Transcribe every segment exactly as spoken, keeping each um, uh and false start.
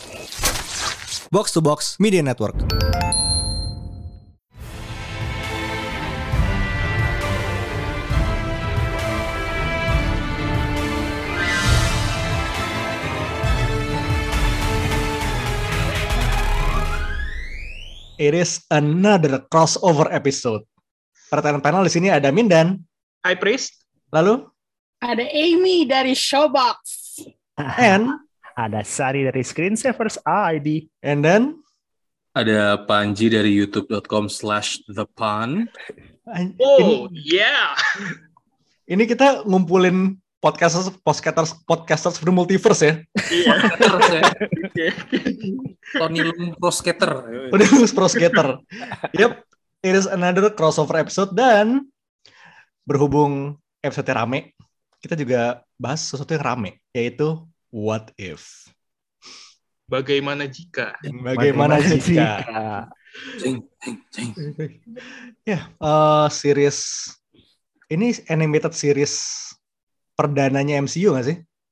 Box to Box Media Network. It is another crossover episode. Pertanyaan panel di sini ada Mindan. Hi Priest. Lalu ada Amy dari Showbox. And ada Sari dari Screensavers I D. And then ada Panji dari youtube dot com slash the pan. Oh, ini, yeah. Ini kita ngumpulin podcasters podcasters podcasters from multiverse ya. Iya. Tony Lung Pro Skater. Tony Lung Pro Skater. Yep, it is another crossover episode dan berhubung episode rame, kita juga bahas sesuatu yang rame, yaitu what if. Bagaimana jika? Bagaimana, Bagaimana jika? Cing, cing, cing. Ya, uh, series ini animated series perdananya M C U nggak sih?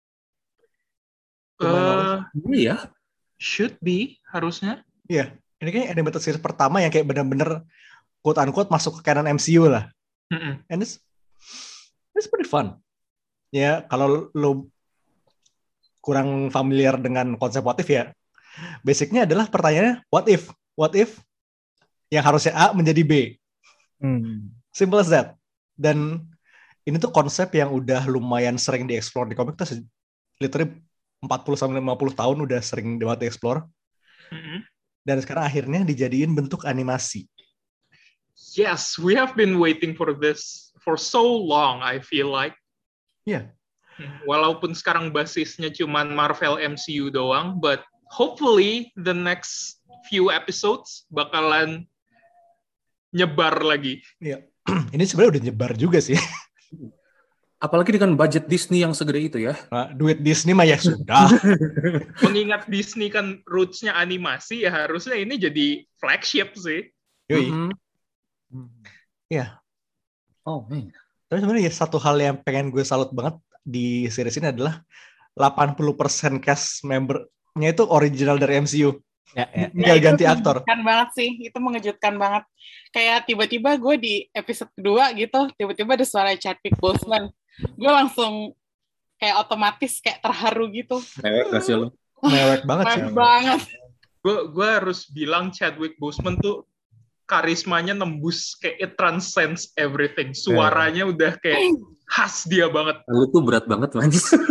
Uh, iya. Should be, harusnya. Iya, ini kayaknya animated series pertama yang kayak benar-benar quote-unquote masuk ke canon M C U lah. Mm-mm. And it's, it's pretty fun. Ya, kalau lo kurang familiar dengan konsep what if ya, basicnya adalah pertanyaannya what if? What if yang harusnya A menjadi B? Hmm. Simple as that. Dan ini tuh konsep yang udah lumayan sering dieksplor di komik tuh literally empat puluh sampai lima puluh tahun udah sering banget dieksplor. Mm-hmm. Dan sekarang akhirnya dijadiin bentuk animasi. Yes, we have been waiting for this for so long, I feel like. Iya. Yeah. Walaupun sekarang basisnya cuman Marvel M C U doang, but hopefully the next few episodes bakalan nyebar lagi. Iya. Ini sebenarnya udah nyebar juga sih. Apalagi dengan budget Disney yang segede itu ya. Nah, duit Disney mah ya sudah. Mengingat Disney kan roots-nya animasi, ya harusnya ini jadi flagship sih. Yoi. Mm-hmm. Iya. Oh, man. Tapi sebenarnya ya satu hal yang pengen gue salut banget di series ini adalah delapan puluh persen cast membernya itu original dari M C U. Ya, ya. Nggak ya, ganti aktor. Mengejutkan banget sih, itu mengejutkan banget. Kayak tiba-tiba gue di episode kedua gitu, tiba-tiba ada suara Chadwick Boseman. Gue langsung kayak otomatis kayak terharu gitu. Mewek gak sih lo? Mewek banget sih. Mewek banget. Gue gue harus bilang Chadwick Boseman tuh karismanya nembus kayak it transcends everything. Suaranya udah kayak khas dia banget. Lu tuh berat banget, man.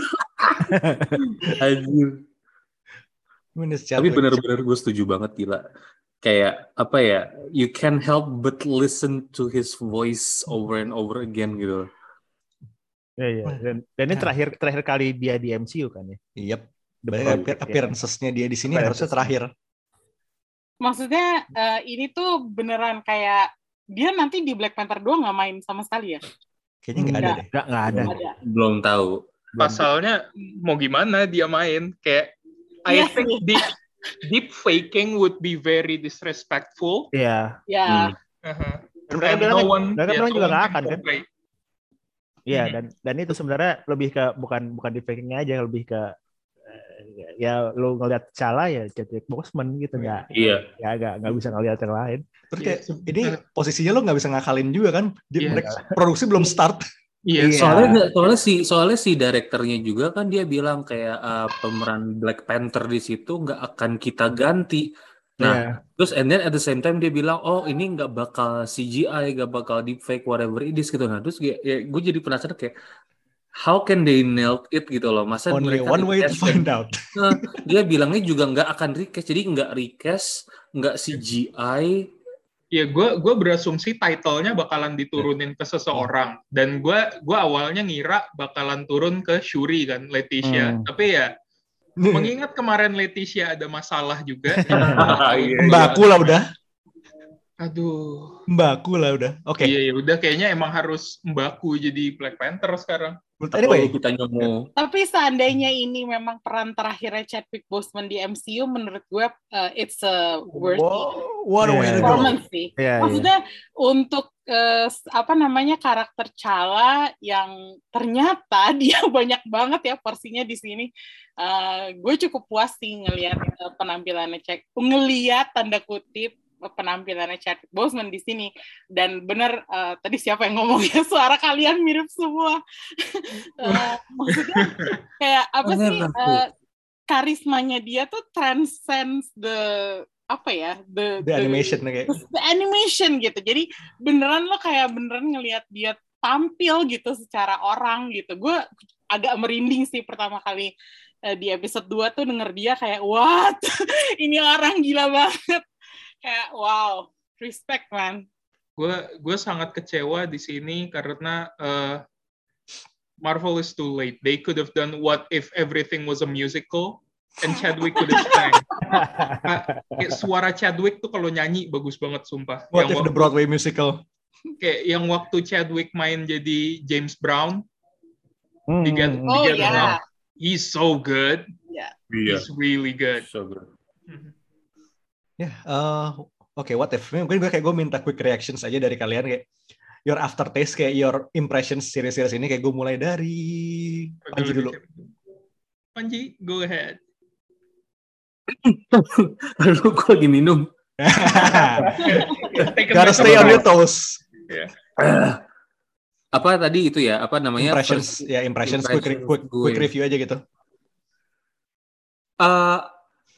Anjir. Tapi benar-benar gue setuju banget, gila. Kayak apa ya, you can help but listen to his voice over and over again gitu. Ya, ya. Dan, dan ini terakhir terakhir kali dia di M C U kan ya. Yep. Banyak appearance-nya dia di sini harusnya terakhir. Maksudnya uh, ini tuh beneran kayak dia nanti di Black Panther dua nggak main sama sekali ya? Kayaknya nggak ada deh. Nggak nggak ada. ada. Belum tahu. Pasalnya mau gimana dia main kayak I Yes. think deep, deep faking would be very disrespectful. Iya. Ya. Hmm. Uh-huh. Dan mereka And bilang, no one, mereka yeah, bilang no juga one nggak can akan kan? portray. Iya, Hmm. dan dan itu sebenarnya lebih ke bukan bukan di fakingnya aja, lebih ke eh, ya lu ngelihat salah ya Chadwick Boseman gitu, nggak Iya. ya nggak nggak bisa ngelihat yang lain. Terus kayak Iya, ini posisinya lo nggak bisa ngakalin juga kan? Di, Iya. mereka produksi belum start. Iya. Iya. Soalnya soalnya si soalnya si direkturnya juga kan dia bilang kayak uh, pemeran Black Panther di situ nggak akan kita ganti. Nah, Iya. terus and then at the same time dia bilang, oh ini nggak bakal C G I, nggak bakal deepfake, whatever it is gitu. Nah, terus ya, ya, gue jadi penasaran kayak how can they nail it gitu loh. Masa Only mereka one way to recast find dan- out. Nah, dia bilangnya juga nggak akan recast, jadi nggak recast, nggak C G I. Ya gue gue berasumsi title-nya bakalan diturunin ke seseorang dan gue gue awalnya ngira bakalan turun ke Shuri kan Leticia, Hmm. tapi ya mengingat kemarin Leticia ada masalah juga. Iya, Mbakku lah udah. Aduh. Mbaku lah udah. Oke. Okay. Iya, ya udah kayaknya emang harus Mbaku jadi Black Panther sekarang. Anyway, kita nyomu. Tapi seandainya ini memang peran terakhirnya Chadwick Boseman di M C U, menurut gue uh, it's a worthy wow, what a way to go. performance sih. Yeah, Maksudnya yeah. untuk uh, apa namanya karakter Chala yang ternyata dia banyak banget ya porsinya di sini. Uh, gue cukup puas sih ngelihat uh, penampilannya cek, ngelihat tanda kutip penampilannya Chadwick Boseman di sini. Dan bener uh, tadi siapa yang ngomongnya suara kalian mirip semua. uh, maksudnya kayak apa sih uh, karismanya dia tuh transcends the apa ya the, the, the animation the, the animation gitu. Jadi beneran lo kayak beneran ngelihat dia tampil gitu secara orang gitu. Gue agak merinding sih pertama kali uh, di episode dua tuh denger dia kayak what ini orang gila banget. Kayak wow, respect man. Gue gue sangat kecewa di sini karena uh, Marvel is too late. They could have done what if everything was a musical and Chadwick could have sang. uh, suara Chadwick tuh kalau nyanyi bagus banget sumpah. What yang if waktu, the Broadway musical? Kayak yang waktu Chadwick main jadi James Brown hmm. di Get, oh, di Get yeah. Enough. He's so good. Yeah. He's really good. So good. Ya, yeah, uh, oke, okay, what if? Mungkin gue kayak gue minta quick reactions aja dari kalian kayak your aftertaste, kayak your impressions series-series ini, kayak gue mulai dari Panji dulu. Panji, go ahead. Lalu gue lagi minum. Gotta stay on your toes. Yeah. Uh, apa tadi itu ya? Apa namanya? Impressions, First, ya impressions, impressions quick, quick, quick review aja gitu. Uh,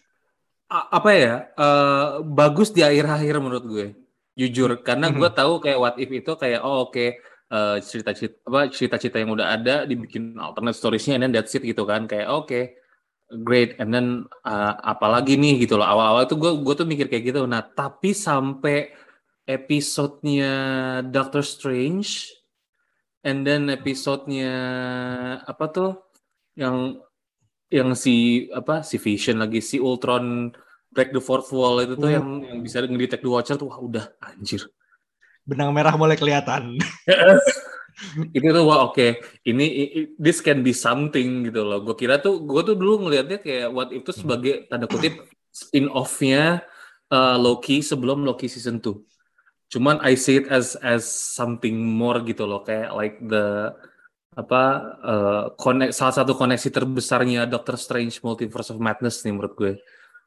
apa ya uh, bagus di akhir-akhir menurut gue jujur karena gue tahu kayak what if itu kayak oh oke okay, uh, cerita-cerita apa cerita-cerita yang udah ada dibikin alternate storiesnya and then that's it gitu kan kayak oke okay, great and then uh, apalagi nih gitu loh awal-awal itu gue gue tuh mikir kayak gitu. Nah tapi sampai episodenya Doctor Strange and then episodenya apa tuh yang yang si apa si Vision lagi si Ultron break the fourth wall itu tuh uh. yang yang bisa ngedetect the Watcher tuh wah udah anjir benang merah mulai kelihatan. Itu tuh wah oke okay. ini this can be something gitu loh. Gue kira tuh gue tuh dulu ngelihatnya kayak what itu sebagai tanda kutip spin off-nya uh, Loki sebelum Loki season two. Cuman I see it as as something more gitu loh kayak like the apa uh, konek, salah satu koneksi terbesarnya Doctor Strange Multiverse of Madness nih menurut gue.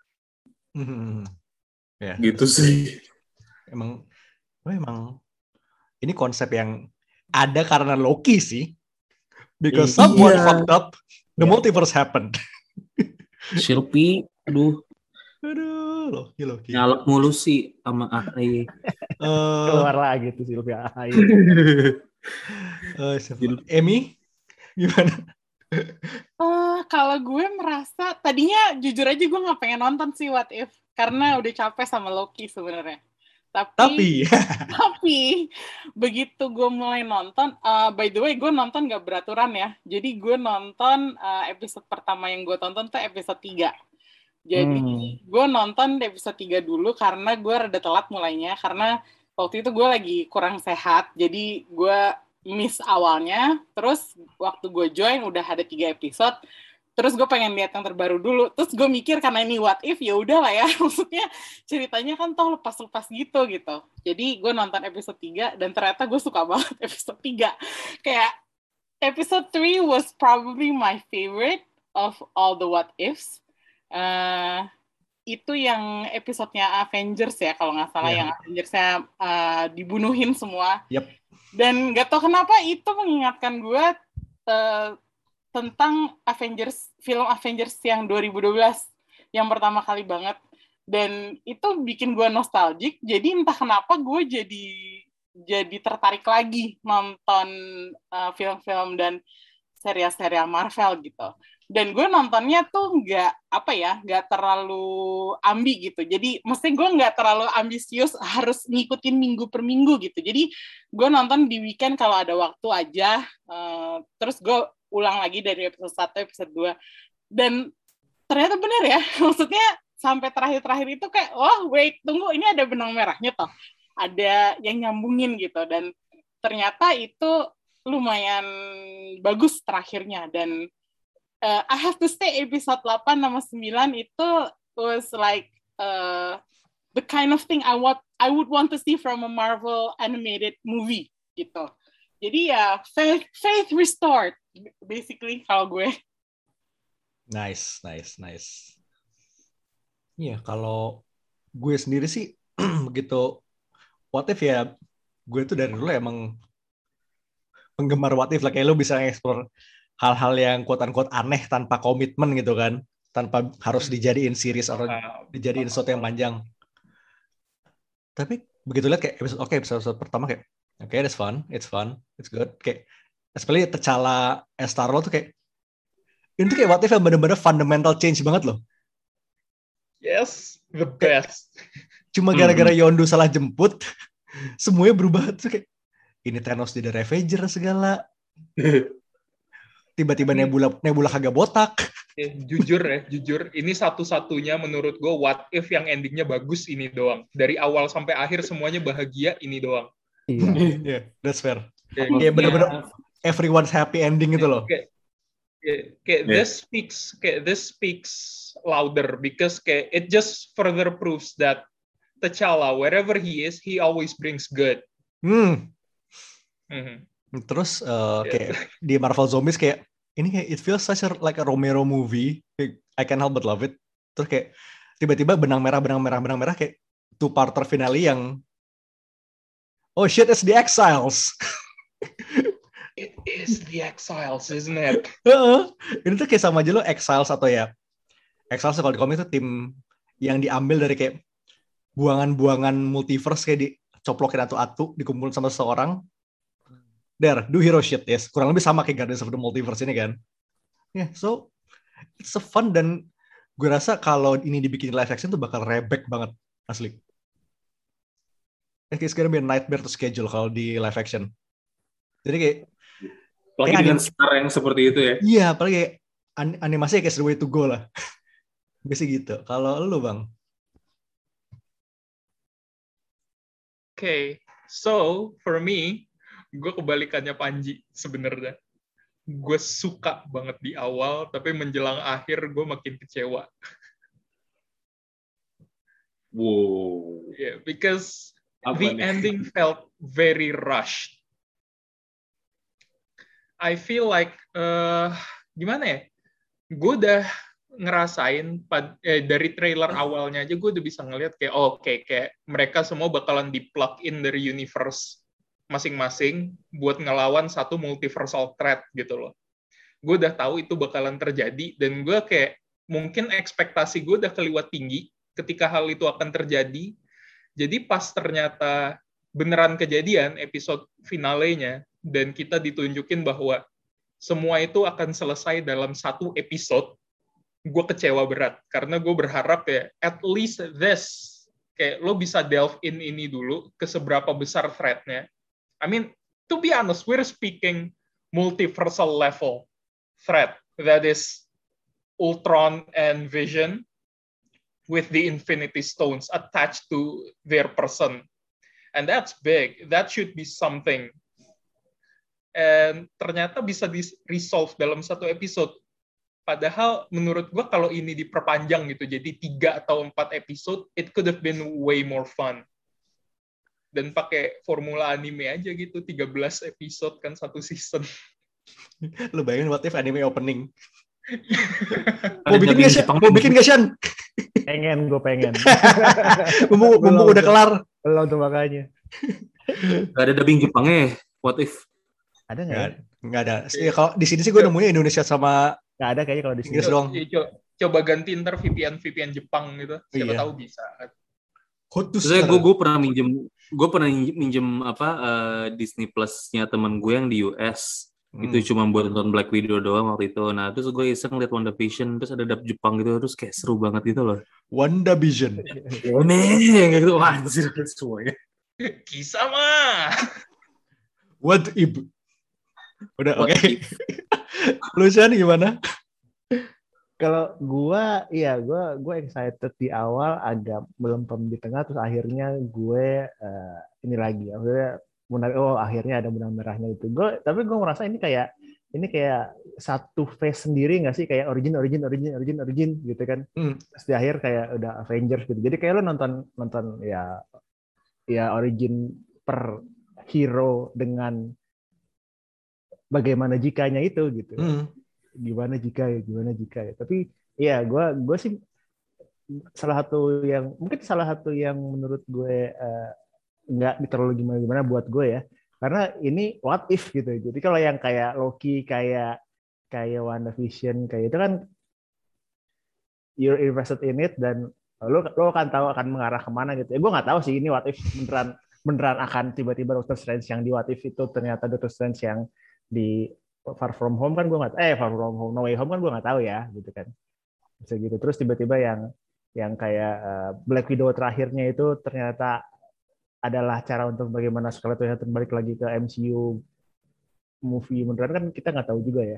Hmm. Ya, gitu sih. Emang, oh emang ini konsep yang ada karena Loki sih. Because iya. someone fucked up, the yeah. multiverse happened. Shilpi, aduh. Aduh, Loki, Loki. Nyalak mulu sih sama A H Y. Uh, Keluar lagi tuh Shilpi A H Y. Uh, Emi, gimana? Uh, kalau gue merasa tadinya jujur aja gue nggak pengen nonton sih What If karena udah capek sama Loki sebenarnya. Tapi tapi, tapi begitu gue mulai nonton, uh, by the way gue nonton nggak beraturan ya. Jadi gue nonton uh, episode pertama yang gue tonton tuh episode tiga. Jadi hmm. gue nonton episode tiga dulu karena gue rada telat mulainya karena waktu itu gue lagi kurang sehat, jadi gue miss awalnya, terus waktu gue join udah ada tiga episode, terus gue pengen lihat yang terbaru dulu, terus gue mikir karena ini what if, ya udah lah ya, maksudnya ceritanya kan toh lepas-lepas gitu gitu, jadi gue nonton episode tiga, dan ternyata gue suka banget episode tiga, kayak episode three was probably my favorite of all the what ifs, uh, itu yang episodenya Avengers ya kalau nggak salah, yeah. yang Avengersnya uh, dibunuhin semua. Yep. Dan nggak tahu kenapa itu mengingatkan gue uh, tentang Avengers, film Avengers yang dua ribu dua belas yang pertama kali banget. Dan itu bikin gue nostalgic. Jadi entah kenapa gue jadi jadi tertarik lagi nonton uh, film-film dan serial-serial Marvel gitu. Dan gue nontonnya tuh nggak, apa ya, nggak terlalu ambi gitu. Jadi, mesti gue nggak terlalu ambisius harus ngikutin minggu per minggu gitu. Jadi, gue nonton di weekend kalau ada waktu aja. Uh, terus gue ulang lagi dari episode satu, episode dua. Dan ternyata bener ya. Maksudnya, sampai terakhir-terakhir itu kayak, oh wait, tunggu, ini ada benang merahnya toh. ada yang nyambungin gitu, dan ternyata itu lumayan bagus terakhirnya. Dan uh, I have to say episode delapan sama sembilan itu was like uh, the kind of thing I want I would want to see from a Marvel animated movie gitu. Jadi ya faith faith restored basically kalau gue. Nice, nice, nice. Iya, kalau gue sendiri sih begitu What If ya, gue tuh dari dulu emang penggemar What If lah, kayak lo bisa nge-explore hal-hal yang quote-unquote aneh tanpa komitmen gitu kan, tanpa harus dijadiin series atau dijadiin sesuatu yang panjang. Tapi begitu lihat kayak episode oke okay, episode, episode pertama kayak oke okay, that's fun, it's fun, it's good, kayak especially T'Challa as Star-Lord tuh kayak ini tuh kayak What If yang bener-bener fundamental change banget loh. Yes, the best. Cuma gara-gara Yondu salah jemput, semuanya berubah tuh kayak ini Thanos jadi Ravager segala. Tiba-tiba Nebula Nebula kagak botak. Ya, jujur ya, jujur ini satu-satunya menurut gue What If yang endingnya bagus ini doang. Dari awal sampai akhir semuanya bahagia ini doang. Iya, yeah, that's fair. Kayak, kayak bener-bener everyone's happy ending gitu loh. Kayak, kayak, kayak yeah. this speaks, kayak this speaks louder because kayak it just further proves that T'Challa, wherever he is, he always brings good. Hmm. Mm-hmm. Terus uh, kayak di Marvel Zombies kayak ini kayak it feels such a, like a Romero movie. I can't help but love it. Terus kayak tiba-tiba benang merah, benang merah, benang merah kayak two-parter finale yang oh shit, it's the Exiles. It is the Exiles, isn't it? Uh-uh. Ini tuh kayak sama aja lo Exiles atau ya Exiles kalau di komik itu tim yang diambil dari kayak buangan-buangan multiverse kayak dicoplokin atu-atu, dikumpulin sama seseorang. There, do hero shit, yes. Kurang lebih sama kayak Guardians of the Multiverse ini kan. Yeah, so it's a fun dan gue rasa kalau ini dibikin live action tuh bakal rebek banget, asli. It's gonna be a nightmare to schedule kalau di live action. Jadi kayak apalagi kayak dengan anim- star yang seperti itu ya. Iya, apalagi kayak an- animasinya kayak the way to go lah. Biasanya gitu. Kalau lu Bang? Oke, okay. So for me, gue kebalikannya Panji sebenarnya. Gue suka banget di awal, tapi menjelang akhir gue makin kecewa. Wow. Yeah, because Apa the nih? ending felt very rushed. I feel like uh, gimana ya? Gue udah ngerasain pad, eh, dari trailer awalnya aja gue udah bisa ngeliat kayak oh, oke okay, kayak mereka semua bakalan di-plug in dari universe masing-masing buat ngelawan satu multiversal threat gitu loh. Gue udah tahu itu bakalan terjadi dan gue kayak mungkin ekspektasi gue udah keliwat tinggi ketika hal itu akan terjadi. Jadi pas ternyata beneran kejadian episode finalenya dan kita ditunjukin bahwa semua itu akan selesai dalam satu episode, gue kecewa berat karena gue berharap ya at least this kayak lo bisa delve in ini dulu ke seberapa besar threat-nya. I mean, to be honest, we're speaking multiversal level threat that is Ultron and Vision with the Infinity Stones attached to their person. And that's big. That should be something. And ternyata bisa di-resolve dalam satu episode. Padahal menurut gue kalau ini diperpanjang gitu, jadi tiga atau empat episode, it could have been way more fun. Dan pakai formula anime aja gitu, tiga belas episode kan satu season. Lu bayangin what if anime opening. Mau bikin gak sih? Mau bikin gak Shan? Pengen, gue pengen. Bumbu, bumbu udah kelar. Belum tuh makanya. Gak ada dubbing Jepangnya, what if? Ada nggak? Ya? Nggak ada. Ya, kalau di sini sih gue nemunya Indonesia sama nggak ada kayaknya kalau di sini. Inggris doang. Coba, coba ganti ntar V P N V P N Jepang gitu. Siapa iya. tahu bisa. Saya gue gue pernah minjem gue pernah minjem apa uh, Disney Plus-nya teman gue yang di U S. Hmm. Itu cuma buat nonton Black Widow doang waktu itu. Nah, terus gue iseng liat WandaVision, terus ada dub Jepang gitu, terus kayak seru banget gitu loh. WandaVision. Nih, kayak gitu anjir semuanya. Kisah mah. What if? Udah oke. Okay. Lu Shan gimana? Kalau gua, iya gua gua excited di awal, agak melempem di tengah, terus akhirnya gue uh, ini lagi, akhirnya benar, oh akhirnya ada benang merahnya itu. Gue, tapi gue merasa ini kayak ini kayak satu phase sendiri nggak sih, kayak origin origin origin origin origin gitu kan. Hmm. Terus di akhir kayak udah Avengers gitu. Jadi kayak lo nonton nonton ya ya origin per hero dengan bagaimana jikanya itu gitu. Hmm. Gimana jika ya, gimana jika ya. Tapi ya gue gue sih salah satu yang mungkin salah satu yang menurut gue uh, nggak terlalu gimana gimana buat gue ya. Karena ini what if gitu. Jadi kalau yang kayak Loki, kayak kayak WandaVision, kayak itu kan you're invested in it dan lo lo akan tahu akan mengarah kemana gitu. Ya gue nggak tahu sih ini what if beneran beneran akan tiba-tiba Doctor Strange yang di what if itu ternyata Doctor Strange yang di Far From Home kan gue nggak, eh Far From Home, No Way Home kan gue nggak tahu ya, gitu kan, bisa gitu. Terus tiba-tiba yang yang kayak uh, Black Widow terakhirnya itu ternyata adalah cara untuk bagaimana Scarlett Johansson balik lagi ke M C U movie beneran kan kita nggak tahu juga ya,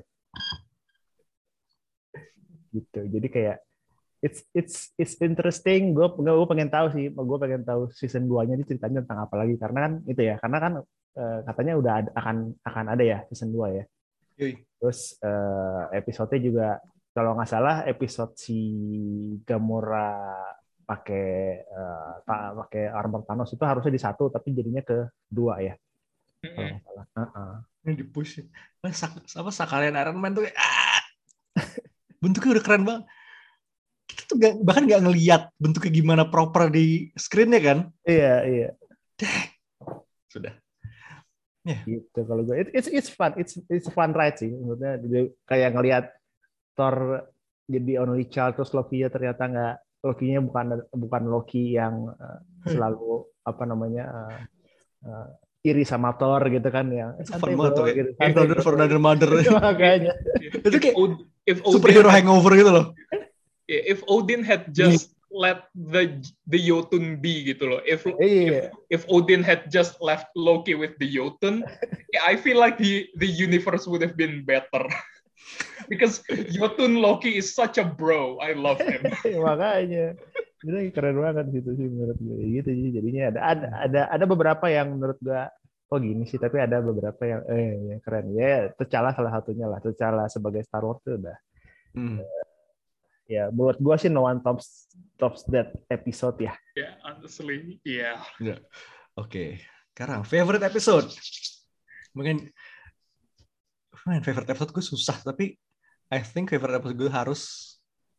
gitu. Jadi kayak it's it's it's interesting. Gue gue pengen tahu sih, gue pengen tahu season dua-nya ini ceritanya tentang apa lagi, karena kan itu ya, karena kan uh, katanya udah ada, akan akan ada ya season dua ya. Terus uh, episode-nya juga kalau nggak salah episode si Gamora pakai uh, pakai armor Thanos itu harusnya di satu tapi jadinya ke dua ya. Mm-hmm. Kalau nggak salah. Uh-uh. Ini dipush. Apa Sakalian Iron Man tuh kayak ah! Bentuknya udah keren banget. Kita tuh gak, bahkan nggak ngelihat bentuknya gimana proper di screen-nya kan? Iya iya. Sudah. Yeah. Gitu kalau gue, it, it's it's fun, it's it's a fun ride sih, maksudnya kayak ngelihat Thor jadi only child terus Loki-nya ternyata nggak, Loki-nya bukan bukan Loki yang uh, selalu apa namanya uh, uh, iri sama Thor gitu kan, yang itu fun banget tuh gitu, kayak brother for another mother makanya itu kayak if superhero hangover gitu loh. If Odin had just let the the Jotun be gitu loh. If yeah. if, if Odin had just left Loki with the Jotun, yeah, I feel like the the universe would have been better. Because Jotun Loki is such a bro. I love him. Makanya itu keren banget gitu sih menurut gue. Gitu sih jadinya ada ada ada ada beberapa yang menurut gue kok gini sih, tapi ada beberapa yang eh yang keren. Ya, T'Challa salah satunya lah. T'Challa sebagai Star Wars itu udah. Hmm. Uh, ya menurut gue sih no one tops tops that episode ya. Yeah, honestly, yeah. yeah. Oke, okay. Sekarang favorite episode. Mungkin man, favorite episode gue susah, tapi I think favorite episode gue harus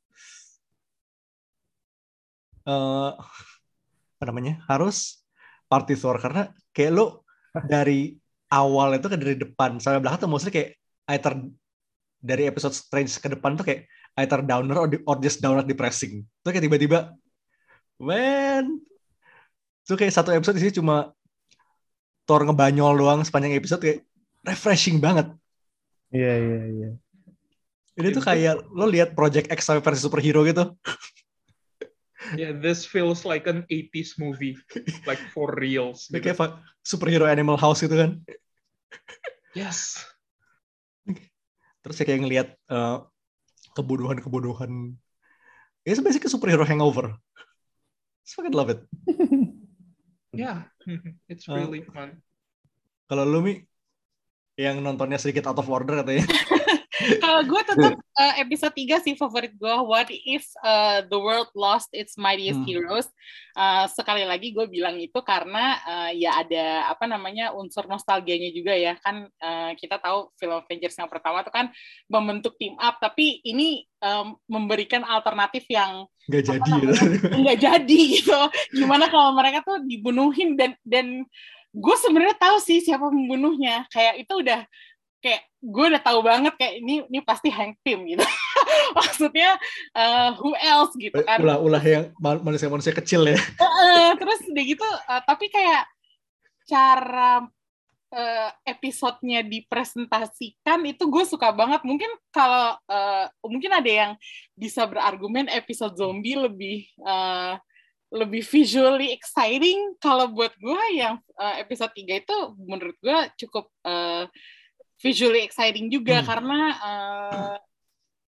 uh, apa namanya? Harus Party Thor, karena kayak lo dari awal itu kan dari depan sampai belakang tuh maksudnya kayak either dari episode Strange ke depan tuh kayak either downer or, or just downer depressing. Tuh kayak tiba-tiba, man, tuh kayak satu episode di sini cuma Thor ngebanyol doang sepanjang episode, kayak refreshing banget. Iya yeah, iya yeah, iya. Yeah. Ini tuh kayak lo lihat Project X sampai versi superhero gitu. Yeah, this feels like an eighties movie, like for reals. Gitu. Kayak superhero Animal House gitu kan. Yes. Terus ya kayak ngelihat uh, kebodohan-kebodohan. It's basically superhero hangover. I fucking love it. Yeah, it's really uh, fun. Kalau lu Mi yang nontonnya sedikit out of order katanya. Kalau gue tetap uh, episode tiga sih favorit gue. What if uh, the world lost its mightiest hmm. heroes? Uh, sekali lagi gue bilang itu karena uh, ya ada apa namanya unsur nostalgianya juga ya kan. Uh, kita tahu film Avengers yang pertama itu kan membentuk team up, tapi ini um, memberikan alternatif yang nggak jadi gitu. Nggak jadi gitu. Gimana kalau mereka tuh dibunuhin dan dan gue sebenarnya tahu sih siapa pembunuhnya. Kayak itu udah kayak gue udah tahu banget kayak ini ini pasti Hank Pym gitu. Maksudnya uh, who else gitu kan. Ulah-ulah yang manusia-manusia kecil ya. Uh, terus udah gitu uh, tapi kayak cara uh, episodenya dipresentasikan itu gue suka banget. Mungkin kalau uh, mungkin ada yang bisa berargumen episode zombie lebih uh, lebih visually exciting. Kalau buat gue yang uh, episode tiga itu menurut gue cukup uh, visually exciting juga hmm. karena uh,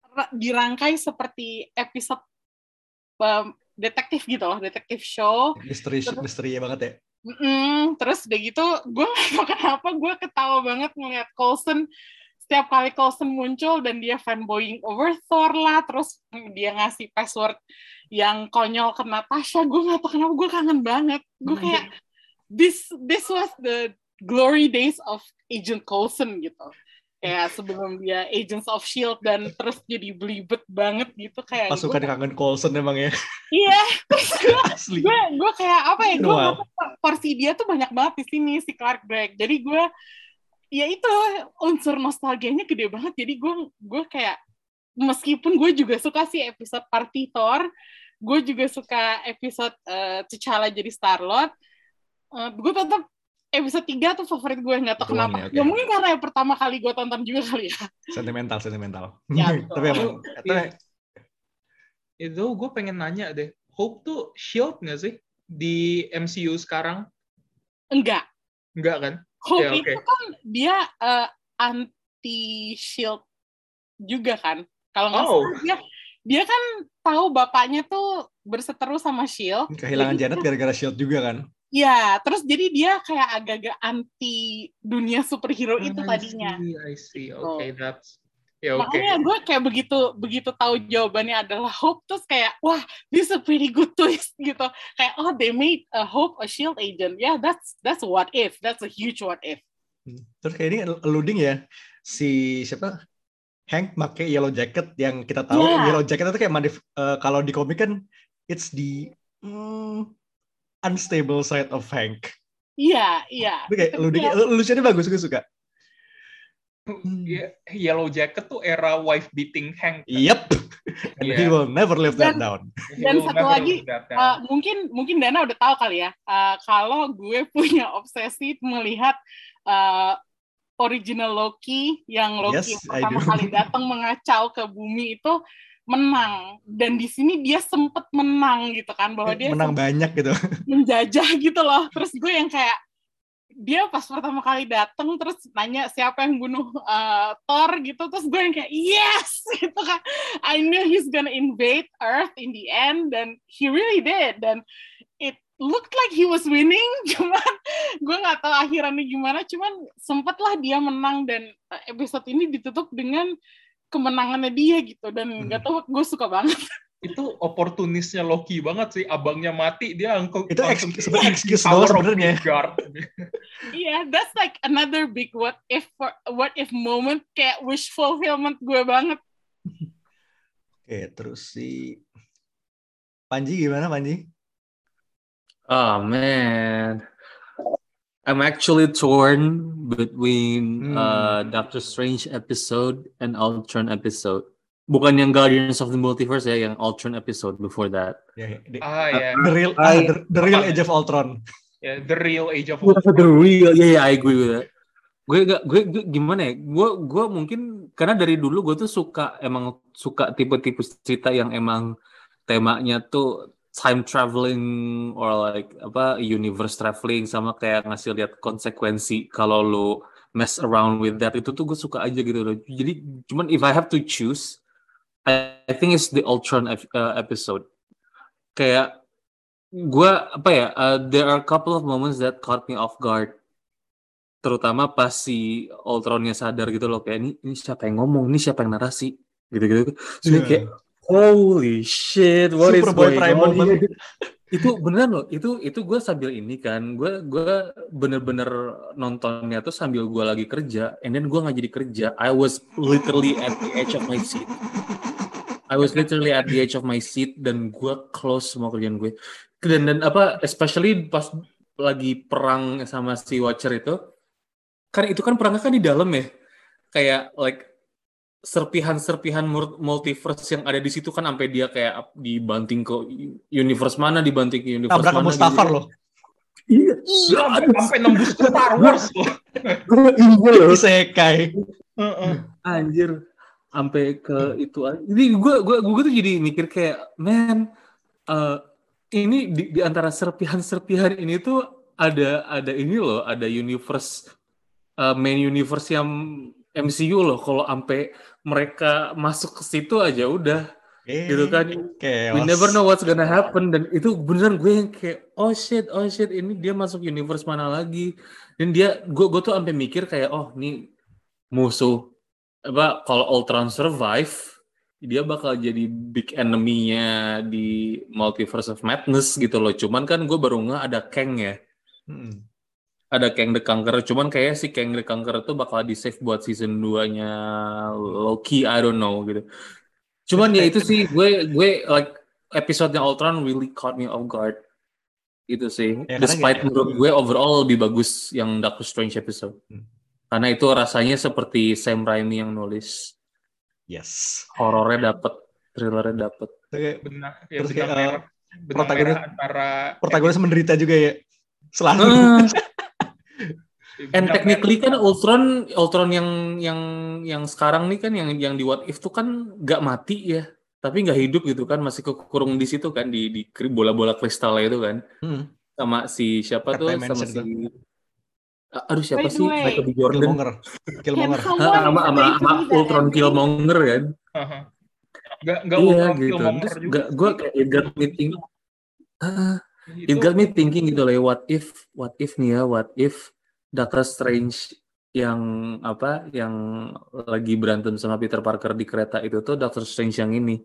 dirangkai seperti episode um, detektif gitu loh, detektif show. Misteri, misteri banget ya. Mm-mm. Terus udah gitu, gue nggak tahu kenapa gue ketawa banget ngeliat Coulson. Setiap kali Coulson muncul dan dia fanboying over Thor lah, terus dia ngasih password yang konyol ke Natasha, gue nggak tahu kenapa gue kangen banget. Gue kayak this this was the glory days of Agent Coulson gitu. Kayak sebelum dia Agents of S H I E L D dan terus jadi belibet banget gitu kayak. Pasukan gua, kangen Coulson emang ya. Iya, terus gue, gue, gue kayak apa ya? Gue wow. porsi dia tuh banyak banget di sini si Clark Gregg. Jadi gue ya itu unsur nostalgianya gede banget. Jadi gue gue kayak meskipun gue juga suka sih episode Party Thor, gue juga suka episode uh, T'Challa jadi Star-Lord, uh, gue tetap episode tiga tuh favorit gue, nggak tahu kenapa. Okay. Ya mungkin karena yang pertama kali gue tonton juga kali ya. Sentimental, sentimental. Ya, tapi emang itu, itu gue pengen nanya deh, Hope tuh shield nggak sih di M C U sekarang? Enggak. Enggak kan? Hope ya, okay. itu kan dia uh, anti shield juga kan? Kalau nggak oh. salah dia dia kan tahu bapaknya tuh berseteru sama shield. Kehilangan Janet gara-gara shield juga kan? Ya, terus jadi dia kayak agak-agak anti dunia superhero oh, itu tadinya. I see, I see. Oke, okay, that's ya yeah, oke. Okay. Makanya gue kayak begitu begitu tahu jawabannya adalah Hope, terus kayak wah, this is a pretty good twist gitu. Kayak oh, they made a Hope a shield agent. Yeah, that's that's what if. That's a huge what if. Terus kayak ini alluding ya si siapa? Hank pakai yellow jacket yang kita tahu yeah. Yellow jacket itu kayak modif uh, kalau di komik kan it's the mm, unstable side of Hank. Iya, iya. Oke, okay, lucunya bagus, gue suka. Yeah, Yellow Jacket tuh era wife beating Hank. Yep. And yeah. He will never live that dan, down. Dan satu lagi, uh, mungkin mungkin Dana udah tahu kali ya, uh, kalau gue punya obsesi melihat uh, original Loki yang Loki yes, pertama kali datang mengacau ke bumi itu menang, dan di sini dia sempet menang gitu kan, bahwa dia menang banyak gitu, menjajah gitu loh. Terus gue yang kayak dia pas pertama kali datang terus nanya siapa yang bunuh uh, Thor gitu, terus gue yang kayak yes gitu kan, I knew he's gonna invade Earth in the end, dan he really did, dan it looked like he was winning, cuman gue nggak tahu akhirannya gimana, cuman sempatlah dia menang, dan episode ini ditutup dengan kemenangannya dia gitu, dan nggak tahu gue suka banget. Itu oportunisnya Loki banget sih, abangnya mati dia angkut itu sebenarnya excuse doang sebenarnya. Iya, that's like another big what if for, what if moment, kayak wish fulfillment gue banget. Oke, terus si Panji gimana Panji? Oh man, I'm actually torn between hmm. uh, Doctor Strange episode and Ultron episode. Bukan yang Guardians of the Multiverse ya, yang Ultron episode before that. Yeah, the, ah, yeah. the real, I, ah, the, the real Age of Ultron. Yeah, the real Age of Ultron. The real, yeah, yeah, I agree with that. Gue, gue, gue gimana ya? Gue, gue mungkin karena dari dulu gue tuh suka emang suka tipe-tipe cerita yang emang temanya tuh time traveling or like apa universe traveling, sama kayak ngasih lihat konsekuensi kalau lo mess around with that, itu tuh gue suka aja gitu loh. Jadi cuman if I have to choose, I, I think it's the Ultron uh, episode. Kayak gue apa ya, uh, there are a couple of moments that caught me off guard, terutama pas si Ultronnya sadar gitu loh, kayak ini, ini siapa yang ngomong, ini siapa yang narasi gitu-gitu. Jadi yeah. kayak holy shit, what Super is going on? Itu beneran loh, itu itu gue sambil ini kan, gue gue bener-bener nontonnya tuh sambil gue lagi kerja, and then gue nggak jadi kerja. I was literally at the edge of my seat. I was literally at the edge of my seat, dan gue close semua kerjaan gue. Dan dan apa, especially pas lagi perang sama si Watcher itu, kan itu kan perangnya kan di dalam ya, kayak like serpihan-serpihan multiverse yang ada di situ kan, sampai dia kayak dibanting ke universe mana, dibanting ke universe Tabrak mana. Tabrak Mustafar gitu. Loh. Iya, iya, sampai nembus ke Star Wars loh. Iya loh, isekai. Anjir, sampai ke itu. Jadi gue gue gue tuh jadi mikir kayak, man, uh, ini di, di antara serpihan-serpihan ini tuh ada ada ini loh, ada universe uh, main universe yang M C U loh kalau sampai mereka masuk ke situ aja udah Eh, gitu kan. chaos. We never know what's gonna happen dan itu beneran gue yang kayak oh shit oh shit ini dia masuk universe mana lagi dan dia gue gue tuh sampai mikir kayak oh nih musuh apa kalau Ultron survive dia bakal jadi big enemy-nya di Multiverse of Madness gitu loh. Cuman kan gue baru nggak ada Kang ya. Hmm. Ada Kang the Conqueror. Cuman kayak si Kang the Conqueror tuh bakal di-save buat season dua-nya Loki. I don't know gitu. Cuman ya itu sih gue gue like episode-nya Ultron really caught me off guard. Itu sih. Ya, Despite karena menurut gue overall lebih bagus yang Doctor Strange episode. Hmm. Karena itu rasanya seperti Sam Raimi yang nulis. Yes. Horornya dapet, thrillernya dapet. Oke. Benang, ya Terus benang kayak, merah, benang protagonis- merah antara Protagonis menderita juga ya. Selalu. Uh, benang and technically merah- kan Ultron, Ultron yang yang yang sekarang nih kan yang yang di What If tuh kan nggak mati ya, tapi nggak hidup gitu kan, masih kekurung di situ kan di di kri- bola-bola kristalnya itu kan, Hmm. sama si siapa tuh Third sama dimension si aduh siapa By the sih way, Michael B. Jordan Killmonger. Can Killmonger. someone sama sama explain to sama me that Ultron ending? Killmonger kan. Aha. Nggak nggak Iya Ultron gitu. Killmonger Terus juga gak, sih. gue kayak it got me thinking, ah, it Itu got me thinking gitu loh. What if, what if nih ya, what if Doctor Strange yang apa, yang lagi berantem sama Peter Parker di kereta itu tuh Doctor Strange yang ini.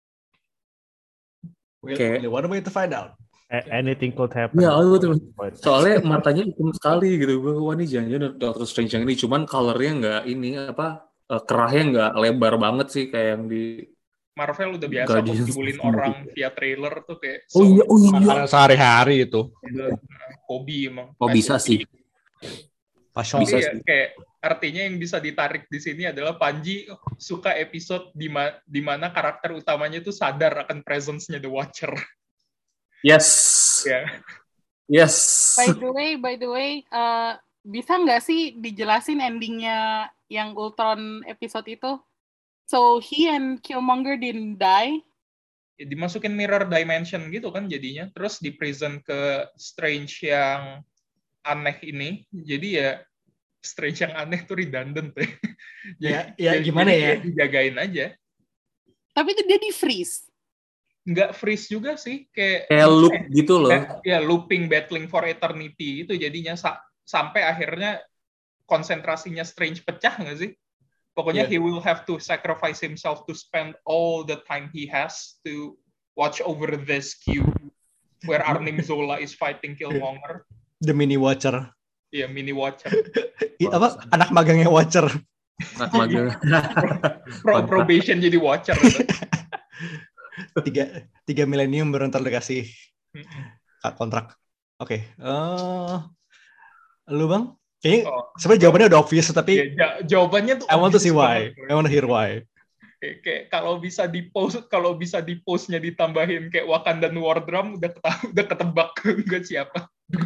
We'll, Kayak- we'll one way to find out. A- Anything could happen. Ya, oh, betul. Soalnya matanya hitam sekali gitu. Gue wah nih jangan-jangan Doctor Strange yang ini. Cuman colornya nggak ini apa, eh, kerahnya nggak lebar banget sih kayak yang di. Marvel udah biasa kok Guardians jebulin of the orang Movie. via trailer tuh kayak Oh iya, oh iya. Makanan sehari-hari itu. hobi emang. Oh bisa sih. Passion. Bisa Tapi ya, sih. kayak artinya yang bisa ditarik di sini adalah Panji suka episode di ma- di mana karakter utamanya tuh sadar akan presence-nya The Watcher. Yes. Ya. Yes. By the way, by the way, uh, bisa nggak sih dijelasin endingnya yang Ultron episode itu? So he and Killmonger didn't die. Ya, dimasukin mirror dimension gitu kan jadinya. Terus di present ke Strange yang aneh ini. Jadi ya Strange yang aneh tuh redundant ya. Ya, Jadi- ya jadi- gimana jadi ya? Dijagain aja. Tapi itu dia di freeze. Nggak freeze juga sih. Kayak, Kayak loop gitu loh. Ba- ya looping battling for eternity itu jadinya sa- sampai akhirnya konsentrasinya Strange pecah nggak sih? Pokoknya Yeah. he will have to sacrifice himself to spend all the time he has to watch over this cube where Arnim Zola is fighting Killmonger. The mini watcher. Ya mini watcher. I, apa anak magangnya watcher. Anak magang. Pro probation jadi watcher. Gitu. tiga tiga milenium baru ntar dikasih kontrak. Oke. Eh, lu bang? Kayaknya Oh. sebenarnya jawabannya udah obvious tapi Ya, ja- jawabannya tuh I want to see obvious why. banget. I want to hear why. Kayak, kayak kalau bisa di post kalau bisa di postnya ditambahin kayak Wakandan War Drum udah keta- udah ketebak enggak siapa.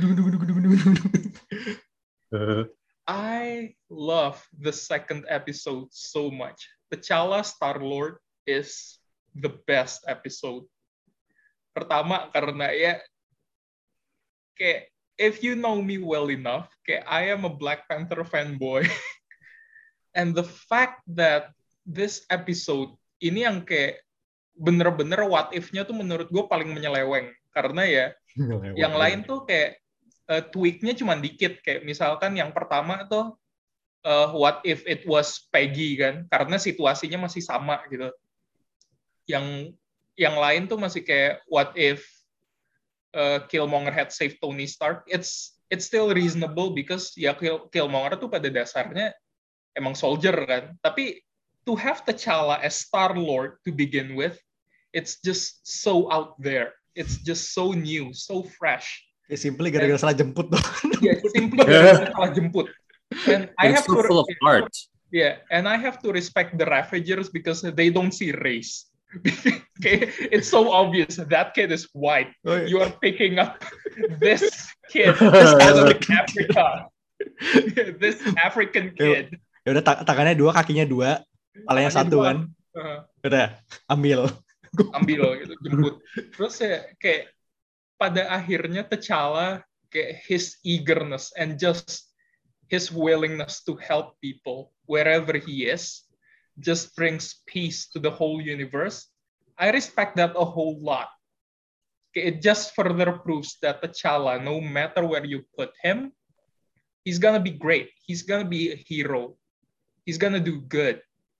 I love the second episode so much. T'Challa Star-Lord is the best episode. Pertama karena ya kayak if you know me well enough, kayak I am a Black Panther fanboy. And the fact that this episode ini yang kayak bener-bener what if-nya tuh menurut gue paling menyeleweng. Karena ya yang lain tuh kayak uh, tweak-nya cuma dikit. Kayak misalkan yang pertama tuh uh, what if it was Peggy kan. Karena situasinya masih sama gitu. Yang yang lain tuh masih kayak what if uh, Killmonger had saved Tony Stark. It's it's still reasonable because ya Kill, Killmonger tuh pada dasarnya emang soldier kan. Tapi to have T'Challa as Star-Lord to begin with, it's just so out there. It's just so new, so fresh. Ya, simply gara-gara salah jemput tuh. Yeah, simply gara-gara salah jemput. And I It's have so to full of art. yeah, and I have to respect the Ravagers because they don't see race. Okay, it's so obvious that kid is white. Oh, iya. You are picking up this kid out of Africa. This African kid. Ya udah ta- tangannya dua, kakinya dua, palanya Tangannya satu dua. kan. Uh, Udah, ambil. ambil gitu, jemput. Terus ya kayak pada akhirnya T'Challa kayak his eagerness and just his willingness to help people wherever he is just brings peace to the whole universe. I respect that a whole lot. It just further proves that T'Challa, no matter where you put him, he's gonna be great. He's gonna be a hero. He's gonna do good.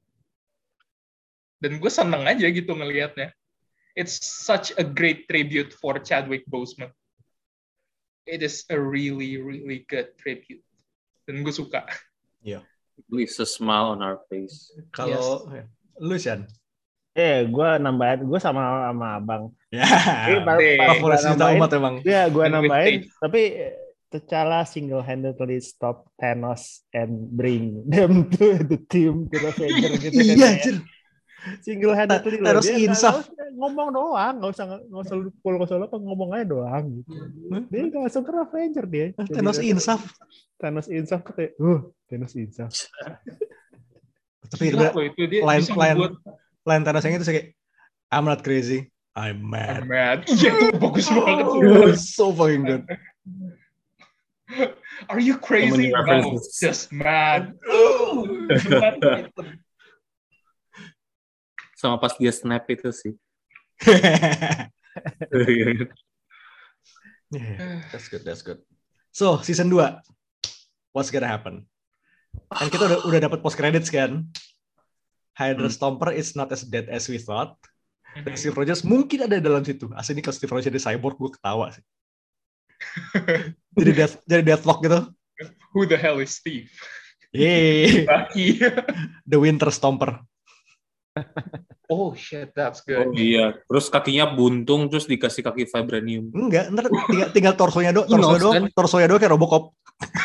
Dan gue seneng aja gitu ngelihatnya. It's such a great tribute for Chadwick Boseman. It is a really, really good tribute. Dan gue suka. Iya. It's a smile on our face. Kalau yes. Lu, Shan? Eh, gue nambahin, gue sama sama abang. Ya, favorit cinta umat emang. Iya, gue nambahin, tapi T'Challa single-handedly stop Thanos and bring them to the team to the Avenger gitu kan. Iya, ya. Single-handedly loh. Thanos insaf. Ngomong doang, nggak usah nggak usah pukul nggak usah apa ngomong aja doang gitu. Dia nggak langsung ke Avenger dia. Thanos insaf. Thanos insaf tuh kayak, uh, Thanos insaf. Tapi lain lain lain Thanos yang itu sih kayak, I'm not crazy, I'm mad. I'm mad. Iya tuh bagus banget. So fucking good. Are you crazy? No, just mad. Sama pas dia snap itu sih. Yeah, that's good, that's good. So, season two, what's gonna happen? Kan kita udah udah dapat post credits kan? Hydra hmm. Stomper is not as dead as we thought. Dan Steve Rogers mungkin ada dalam situ. Asli ini kalau Steve Rogers jadi cyborg, gue ketawa sih. jadi death, jadi deathlock gitu. Who the hell is Steve? Yeay. The Winter Stomper. Oh shit, that's good. Oh iya, terus kakinya buntung terus dikasih kaki vibranium. Enggak, ntar tinggal, tinggal torsonya doang, torsonya doang, kan? torsonya doang kayak Robocop.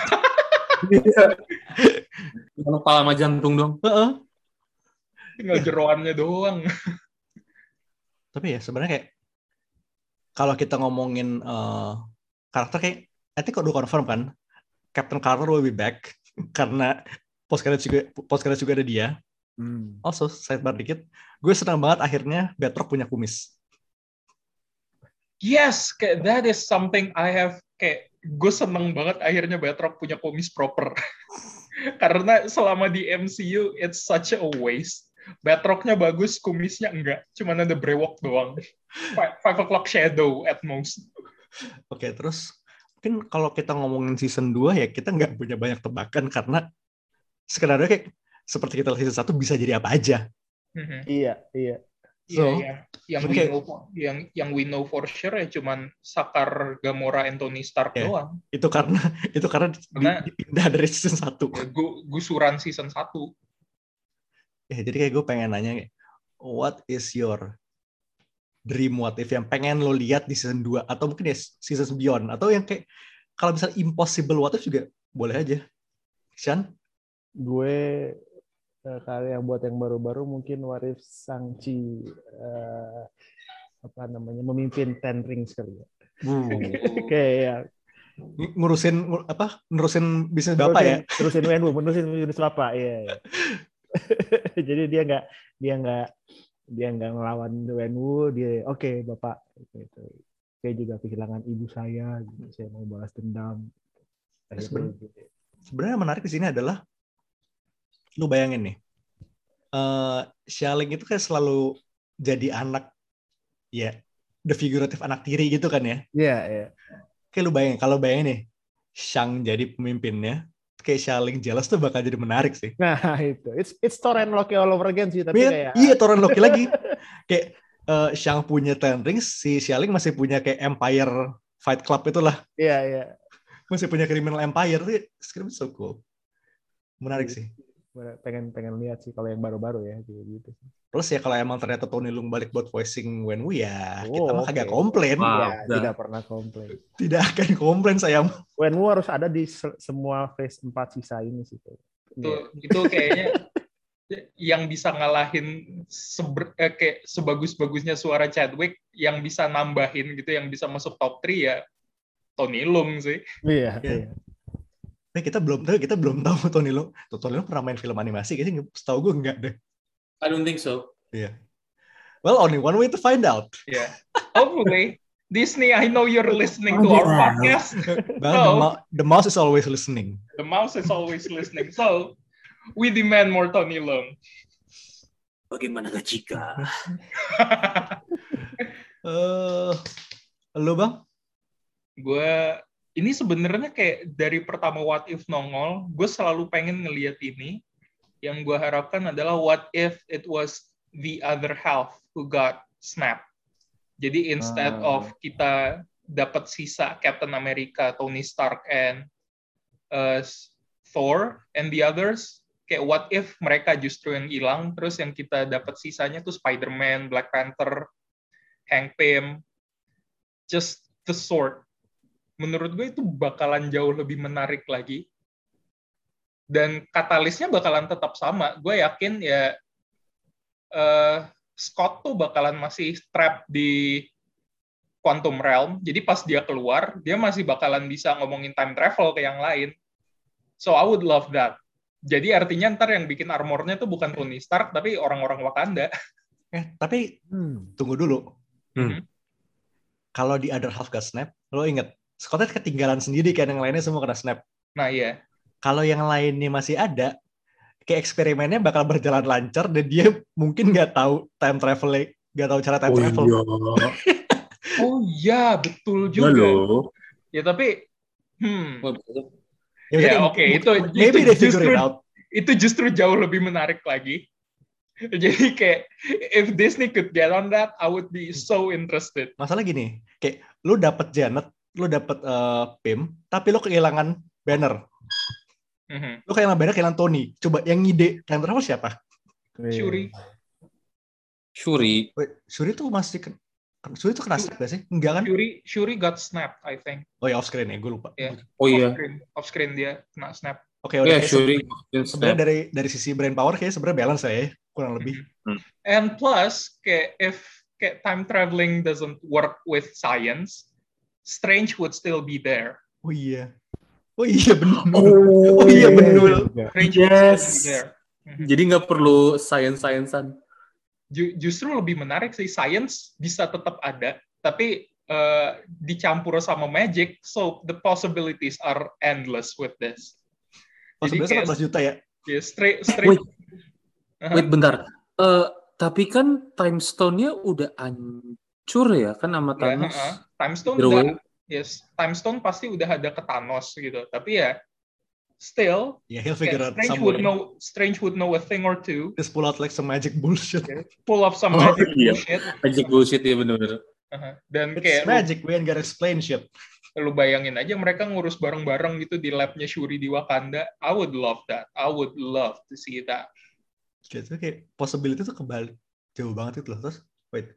Bukan kepala sama jantung dong. Heeh. Tinggal jeroannya doang. Tapi ya sebenarnya kayak kalau kita ngomongin uh, karakter kayak I think udah confirm kan Captain Carter will be back karena post credits juga post credits juga ada dia. Hmm. Also sidebar dikit, gue senang banget akhirnya Batroc punya kumis. Yes, kayak that is something I have kayak gue seneng banget akhirnya Batroc punya kumis proper. Karena selama di M C U it's such a waste. Batrocnya bagus, kumisnya enggak, cuman ada brewok doang. Five, five o'clock shadow at most. Oke, okay, terus mungkin kalau kita ngomongin season two ya kita nggak punya banyak tebakan karena sebenarnya kayak seperti kita season one bisa jadi apa aja. Mm-hmm. Iya, iya. So, iya, iya. Yang we know, yang yang we know for sure ya cuman Sakar, Gamora, and Tony Stark yeah, doang. Itu karena itu karena, karena dipindah dari season one. Ya, gusuran season one. Ya, jadi kayak gue pengen nanya, what is your dream what if yang pengen lo lihat di season two atau mungkin ya season beyond atau yang kayak kalau misalnya impossible what if juga boleh aja. Shan? Gue kalau yang buat yang baru-baru mungkin what if Shang-Chi uh, apa namanya memimpin Ten Rings kali ya. Hmm. Kayak ngurusin apa? Ngurusin bisnis bapak ya. Ngurusin W N U, ngurusin bisnis bapak ya. Ya. Jadi dia nggak dia nggak dia nggak ngelawan W N U, dia oke okay, bapak gitu. Saya juga kehilangan ibu saya, gitu. Saya mau balas dendam. Sebenarnya, sebenarnya menarik di sini adalah lu bayangin nih, uh, Xialing itu kan selalu jadi anak, ya, the figurative anak tiri gitu kan ya? Iya, yeah, iya. Yeah. Kayak lu bayangin, kalau bayangin nih, Shang jadi pemimpinnya, kayak Xialing jealous tuh bakal jadi menarik sih. Nah itu, it's it's Thor and Loki all over again sih, tapi iya, kayak iya Thor and Loki lagi. Kayak uh, Shang punya Ten Rings, si Xialing masih punya kayak Empire Fight Club itulah. Iya, yeah, iya. Yeah. Masih punya Criminal Empire tuh, script so cool. Menarik yeah. sih. pengen pengen lihat sih kalau yang baru-baru ya gitu. Plus ya kalau emang ternyata Tony Leung balik buat voicing Wenwu ya oh, kita mah okay. kagak komplain. Wow, ya, tidak pernah komplain. Tidak akan komplain saya. Wenwu harus ada di se- semua phase empat sisa ini sih. Itu yeah. itu kayaknya yang bisa ngalahin seber, eh, kayak sebagus-bagusnya suara Chadwick yang bisa nambahin gitu yang bisa masuk top three ya Tony Leung sih. Iya, yeah, iya. Eh, kita belum tahu, kita belum tahu Tony Leung. Tony Leung pernah main film animasi, kayaknya setahu gue enggak deh. I don't think so. Iya. Yeah. Well, only one way to find out. Yeah. Hopefully, Disney, I know you're listening to our podcast. Well, the, mo- the mouse is always listening. The mouse is always listening. So, we demand more Tony Leung. Bagaimana jika? Eh, Lu Bang? Gue ini sebenarnya kayak dari pertama What If nongol, gue selalu pengen ngelihat ini. Yang gue harapkan adalah what if it was the other half who got snapped. Jadi instead Ah. of kita dapat sisa Captain America, Tony Stark, and uh, Thor and the others, kayak what if mereka justru yang hilang, terus yang kita dapat sisanya tuh Spider-Man, Black Panther, Hank Pym, just the sword. Menurut gue itu bakalan jauh lebih menarik lagi. Dan katalisnya bakalan tetap sama. Gue yakin ya uh, Scott tuh bakalan masih trap di Quantum Realm. Jadi pas dia keluar, dia masih bakalan bisa ngomongin time travel ke yang lain. So I would love that. Jadi artinya ntar yang bikin armornya tuh bukan Tony Stark, tapi orang-orang Wakanda. Eh, tapi Hmm. tunggu dulu. Hmm. Kalau di other half got snap, lo inget, Scottnya ketinggalan sendiri kan, yang lainnya semua kena snap. Nah iya. Kalau yang lainnya masih ada, kayak eksperimennya bakal berjalan lancar dan dia mungkin nggak tahu time travel, nggak tahu cara time Oh travel. iya. Oh iya, betul Ya juga. loh. Ya tapi, hmm, Ya, ya maksudnya oke, itu maybe itu they figure justru it out. itu justru jauh lebih menarik lagi. Jadi kayak if Disney could get on that, I would be so interested. Masalah gini, kayak lu dapet Janet, lu dapet uh, Pym, tapi lu kehilangan Banner. Mhm. Lu kehilangan Banner, kehilangan Tony. Coba yang ngide time travel siapa? Shuri. Shuri. Wait, Shuri tuh masih ke... Shuri tuh kena snap gak sih? Enggak kan? Shuri Shuri got snapped, I think. Oh ya, off screen ya, gue lupa. Ya. Oh iya. Off screen, off screen dia kena snap. Oke, Oh udah iya, kayak Shuri. se- sebenarnya dari dari sisi brain power kayak sebenarnya balance ya, kurang lebih. And plus, kayak if kayak time traveling doesn't work with science, Strange would still be there. Oh iya. Oh iya benar. Oh, Oh iya benar. Strange Yes. would still be there. Mhm. Jadi nggak perlu science-sciencean. Ju- justru lebih menarik sih, science bisa tetap ada, tapi uh, dicampur sama magic, so the possibilities are endless with this. Oh, Jadi sebenarnya kayak empat belas juta ya. ya, straight, straight. Wait, wait bentar. Eh, tapi kan time stone-nya udah hancur ya kan sama Ya, Thanos. uh-uh. Time Stone Either udah, way. yes, Time Stone pasti udah ada ke Thanos gitu, tapi ya still, Ya, he'll figure kayak out Strange some would way. know, Strange would know a thing or two, Just pull out like some magic bullshit. pull off some Oh, magic iya. bullshit, Magic bullshit ya bener-bener. uh-huh. Dan It's kayak lu, magic, we ain't gotta explain shit. lu bayangin aja mereka ngurus bareng-bareng gitu di labnya Shuri di Wakanda. I would love that. I would love to see that. Gitu, kayak possibility tuh kebalik. Jauh banget itu loh. Terus, wait.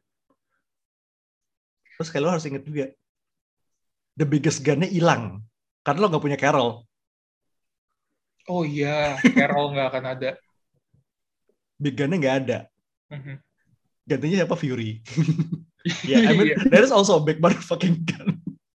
Terus kayak lo harus inget juga. The biggest gun-nya hilang. Karena lo gak punya Carol. Oh iya, Carol nggak akan ada. Big gun-nya gak ada. Mhm. Gantinya siapa? Fury. Yeah, I mean, Iya. that is also a big motherfucking gun.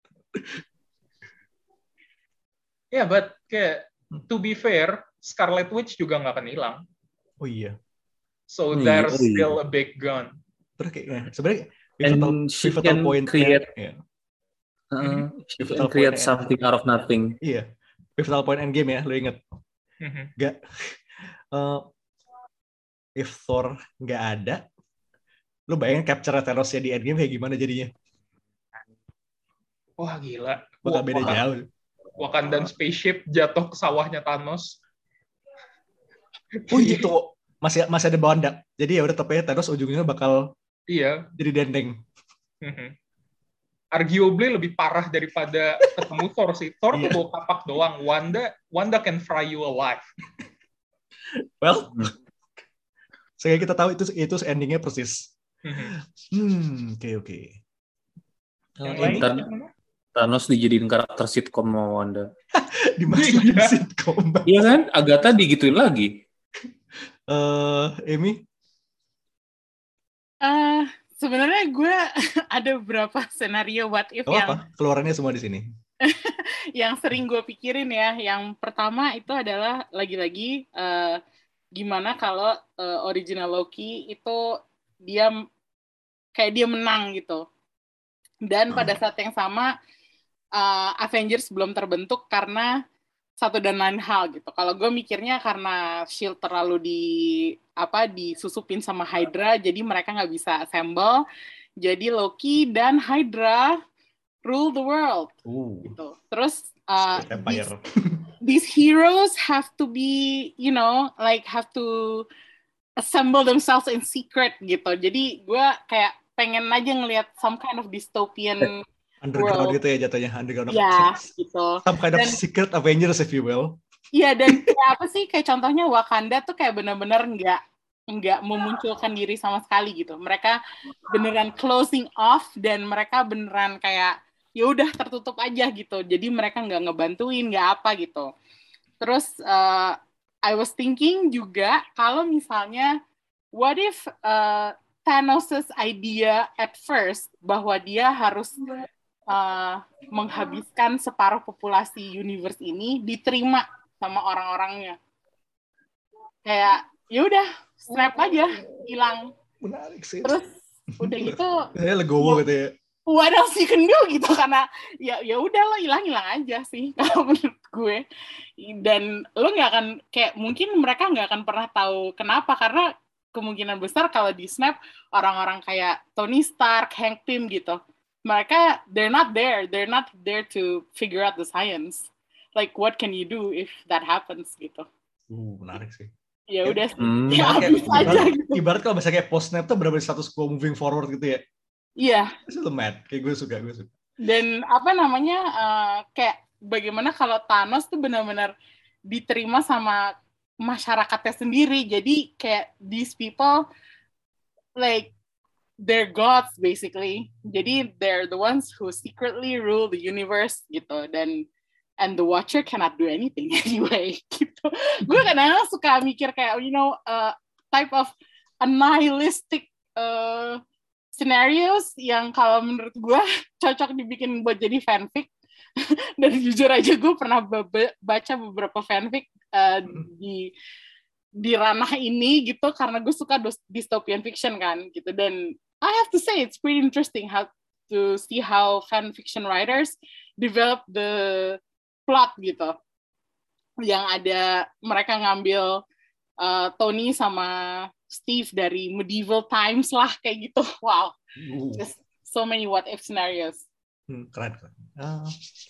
Yeah, but kayak to be fair, Scarlet Witch juga nggak akan hilang. Oh iya. So Oh iya, there's oh iya. still a big gun. Terus kayak, ya, sebenarnya And pivotal, she pivotal can point create- ya. Uh, she Pivotal can create point-nya. something out of nothing. Iya. Pivotal point endgame ya, lo inget. Mhm. Gak. Uh, if Thor nggak ada, lo bayangin capture Thanos-nya di endgame kayak gimana jadinya? Wah gila. Bakal Wak- beda Wak- jauh. Wakandan spaceship jatuh ke sawahnya Thanos. Oh gitu. Masih masih ada Wanda. Jadi ya udah tapi Thanos ujungnya bakal Iya. jadi dendeng. Mhm. Arguably lebih parah daripada ketemu Thor sih. Thor tuh Iya. bawa kapak doang. Wanda, Wanda can fry you alive. Well, Hmm. sehingga kita tahu itu itu endingnya persis. Mhm. Hmm, oke oke. Yang Uh, lain ini Ntar- gimana? Thanos dijadiin karakter sitcom sama Wanda. dimasukin Iya. sitcom. Iya kan? Agatha digituin lagi. Eh, Amy, Eh, sebenarnya gue ada beberapa skenario what if apa yang apa? Keluarannya semua di sini. yang sering gue pikirin ya. Yang pertama itu adalah lagi-lagi eh, gimana kalau eh, original Loki itu dia m- kayak dia menang gitu. Dan pada saat yang sama uh, Avengers belum terbentuk karena satu dan lain hal gitu. Kalau gue mikirnya karena Shield terlalu di apa disusupin sama Hydra, jadi mereka nggak bisa assemble. Jadi Loki dan Hydra rule the world. Uh. Gitu. Terus uh, Empire. these, these heroes have to be, you know, like have to assemble themselves in secret gitu. Jadi gue kayak pengen aja ngelihat some kind of dystopian underground world. gitu ya jatuhnya, underground. Ya, gitu. Some kind of dan, secret Avengers if you will. Iya, dan kayak apa sih, kayak contohnya Wakanda tuh kayak benar-benar nggak nggak memunculkan diri sama sekali gitu. Mereka beneran closing off dan mereka beneran kayak ya udah tertutup aja gitu. Jadi mereka nggak ngebantuin, nggak apa gitu. Terus uh, I was thinking juga kalau misalnya what if uh, Thanos' idea at first bahwa dia harus uh, menghabiskan separuh populasi universe ini diterima sama orang-orangnya. Kayak ya udah snap aja, hilang. Menarik sih. Terus udah gitu ya legowo gitu ya. What else you can do gitu, karena ya ya udah lo hilang-hilang aja sih kalau menurut gue. Dan lo nggak akan kayak mungkin mereka nggak akan pernah tahu kenapa, karena kemungkinan besar kalau di snap orang-orang kayak Tony Stark, Hank Pym gitu, mereka they're not there, they're not there to figure out the science. Like what can you do if that happens gitu? Uh, menarik sih. Ya udah sih, hmm. ya habis ibarat, aja gitu. Ibarat kalau misalnya kayak post snap tuh benar-benar status quo moving forward gitu ya. Iya. Itu tuh mad, kayak gue suka, gue suka. Dan apa namanya uh, kayak bagaimana kalau Thanos tuh benar-benar diterima sama masyarakatnya sendiri. Jadi kayak these people like they're gods basically. Jadi they're the ones who secretly rule the universe gitu, dan and the Watcher cannot do anything anyway gitu. Gue kadang-kadang suka mikir kayak you know uh, type of a nihilistic uh, scenarios yang kalau menurut gue cocok dibikin buat jadi fanfic. Dan jujur aja gue pernah be- baca beberapa fanfic uh, di di ranah ini gitu, karena gue suka dystopian fiction kan gitu. Dan I have to say it's pretty interesting how to see how fan fiction writers develop the plot gitu. Yang ada mereka ngambil uh, Tony sama Steve dari medieval times lah kayak gitu. Wow. Uh. Just so many what if scenarios. Hmm, keren keren. Uh.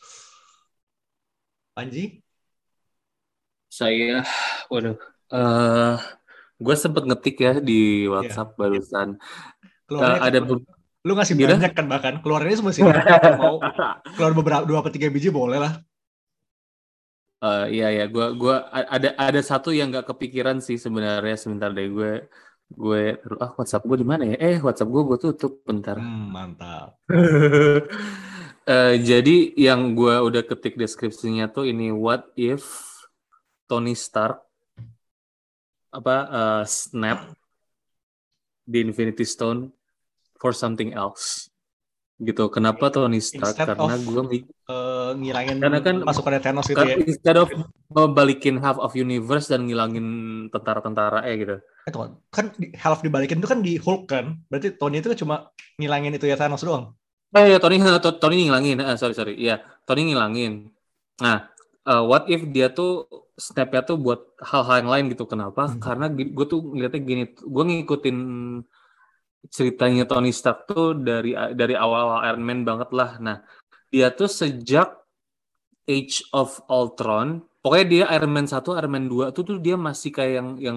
Panji? Saya, waduh, uh, gue sempet ngetik ya di WhatsApp yeah. barusan. Uh, ada be- lu ngasih Gila? banyak kan, bahkan keluarannya semua sih. Mau keluar beberapa dua atau tiga biji boleh lah. Uh, iya ya, gue gua ada ada satu yang nggak kepikiran sih sebenarnya. Sebentar deh gue gue ah WhatsApp gue di mana ya? Eh WhatsApp gue gue tutup bentar. Hmm, mantap. uh, jadi yang gue udah ketik deskripsinya tuh ini, what if Tony Stark apa uh, snap the Infinity Stone for something else gitu. Kenapa Tony Stark? Instead karena gue uh, ngilangin karena kan pasukan Thanos gitu ya. Instead of membalikin half of universe dan ngilangin tentara-tentara eh gitu. Eh tuh, kan half dibalikin itu kan di Hulk kan. Berarti Tony itu cuma ngilangin itu ya Thanos doang. Oh iya, Tony Tony ngilangin. Ah, sorry sorry. Iya, Tony ngilangin. Nah, uh, what if dia tuh snap-nya tuh buat hal-hal yang lain gitu. Kenapa? Hmm. Karena gue tuh ngeliatnya gini, gue ngikutin ceritanya Tony Stark tuh dari dari awal Iron Man banget lah. Nah, dia tuh sejak Age of Ultron, pokoknya dia Iron Man satu, Iron Man dua tuh tuh dia masih kayak yang yang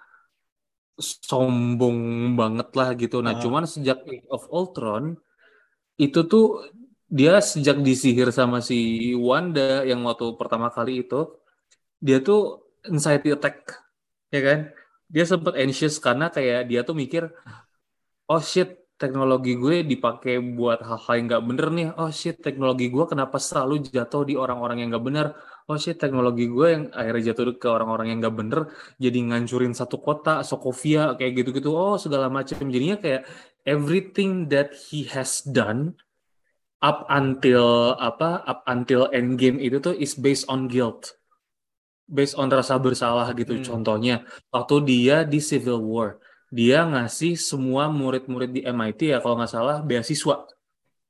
sombong banget lah gitu. Nah, uh. cuman sejak Age of Ultron itu tuh dia sejak disihir sama si Wanda yang waktu pertama kali itu, dia tuh anxiety attack, ya kan? Dia sempat anxious karena kayak dia tuh mikir, oh shit, teknologi gue dipakai buat hal-hal yang nggak bener nih. Oh shit, teknologi gue kenapa selalu jatuh di orang-orang yang nggak bener. Oh shit, teknologi gue yang akhirnya jatuh ke orang-orang yang nggak bener, jadi ngancurin satu kota, Sokovia, kayak gitu-gitu. Oh segala macam. Jadinya kayak everything that he has done up until apa, up until Endgame itu tuh is based on guilt, based on rasa bersalah gitu. Hmm. Contohnya waktu dia di Civil War, dia ngasih semua murid-murid di M I T ya kalau nggak salah beasiswa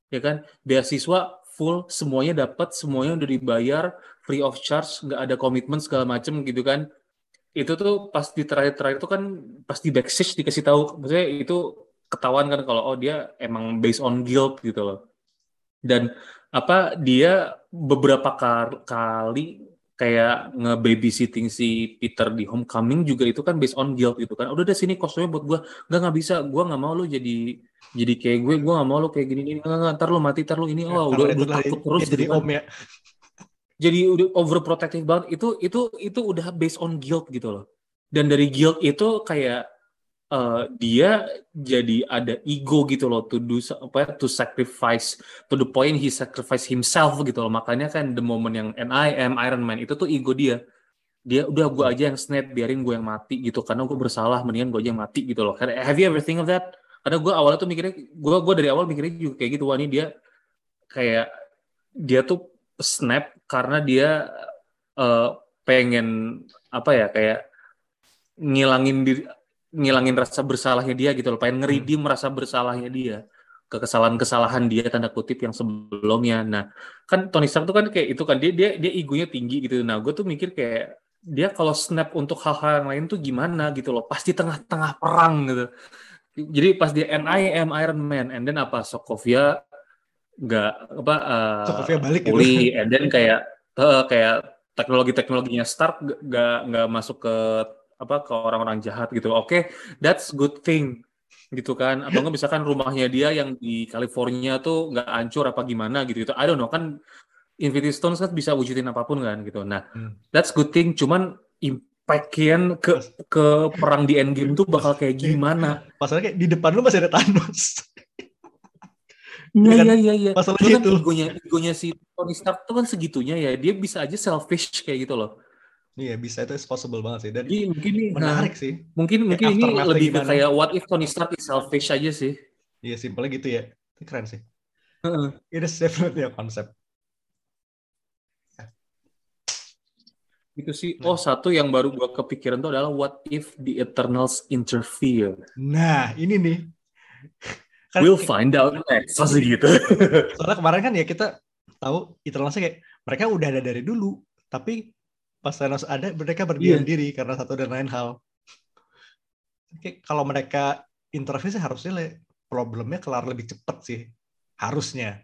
ya kan? Beasiswa full, semuanya dapat, semuanya udah dibayar, free of charge, nggak ada komitmen segala macem gitu kan. Itu tuh pas di terakhir-terakhir itu kan pas di backstage dikasih tahu, maksudnya itu ketahuan kan kalau oh dia emang based on guilt gitu loh. Dan apa dia beberapa kar- kali kayak nge-babysitting si Peter di Homecoming juga itu kan based on guilt gitu kan. Udah deh sini kostumnya buat gua. Nggak nggak bisa, gua nggak mau lu jadi jadi kayak gue, gua nggak mau lu kayak gini gini. Nggak, nggak, ntar lu mati, ntar lu ini. Ya, Oh, udah karena udah itulah takut dia, terus dia jadi gitu kan. om ya. Jadi udah overprotective banget. Itu itu itu udah based on guilt gitu loh. Dan dari guilt itu kayak eh, dia jadi ada ego gitu loh to do sa- apa to sacrifice to the point he sacrifice himself gitu loh. Makanya kan the moment yang and I am Iron Man itu tuh ego dia. Dia udah gue Betul. aja yang snap, biarin gue yang mati gitu karena gue bersalah, mendingan gue aja yang mati gitu loh. Karena- Have you ever think of that? Karena gue awalnya tuh mikirnya, gue gue dari awal mikirnya juga kayak gitu. Wah ini dia kayak dia tuh snap karena dia eh, pengen apa ya kayak ngilangin diri, ngilangin rasa bersalahnya dia gitu loh, pengen Hmm. ngeridim rasa bersalahnya dia ke kesalahan-kesalahan dia tanda kutip yang sebelumnya. Nah, kan Tony Stark tuh kan kayak itu kan dia dia dia egonya tinggi gitu. Nah, gue tuh mikir kayak dia kalau snap untuk hal-hal yang lain tuh gimana gitu loh, pas di tengah-tengah perang gitu. Jadi pas dia and I am Iron Man, and then apa Sokovia nggak apa uh, Sokovia balik gitu. pulih, and then kayak uh, kayak teknologi-teknologinya Stark nggak nggak nggak masuk ke apa ke orang-orang jahat gitu. Oke, that's good thing gitu kan. Atau nggak misalkan rumahnya dia yang di California tuh nggak hancur apa gimana gitu gitu. I don't know kan Infinity Stones kan bisa wujudin apapun kan gitu. Nah, Hmm. that's good thing. Cuman impact-nya ke Pas, ke perang di Endgame tuh pas, bakal kayak gimana? masalahnya kayak di depan lu masih ada Thanos. Iya Ya kan? iya iya iya. Masalahnya Cuma kan itu. egonya egonya si Tony Stark tuh kan segitunya ya. Dia bisa aja selfish kayak gitu loh. Iya, bisa, itu is possible banget sih. Dan Jadi mungkin nih, nah, menarik sih. mungkin Kayak mungkin ini aftermath-nya lebih ke gimana. kayak what if Tony Stark is selfish aja sih. Iya, simpelnya gitu ya. Itu keren sih. Heeh. It is definitely a concept. Gitu sih. Oh, satu yang baru gua kepikiran tuh adalah what if the Eternals interfere? Nah, ini nih. Kan, We'll find out next. Masih gitu. soalnya kemarin kan ya kita tahu Eternals kayak mereka udah ada dari dulu, tapi pas Thanos ada mereka berdiam Iya. diri karena satu dan lain hal. Kayak kalau mereka intervensi sih harusnya le- problemnya kelar lebih cepat sih, harusnya.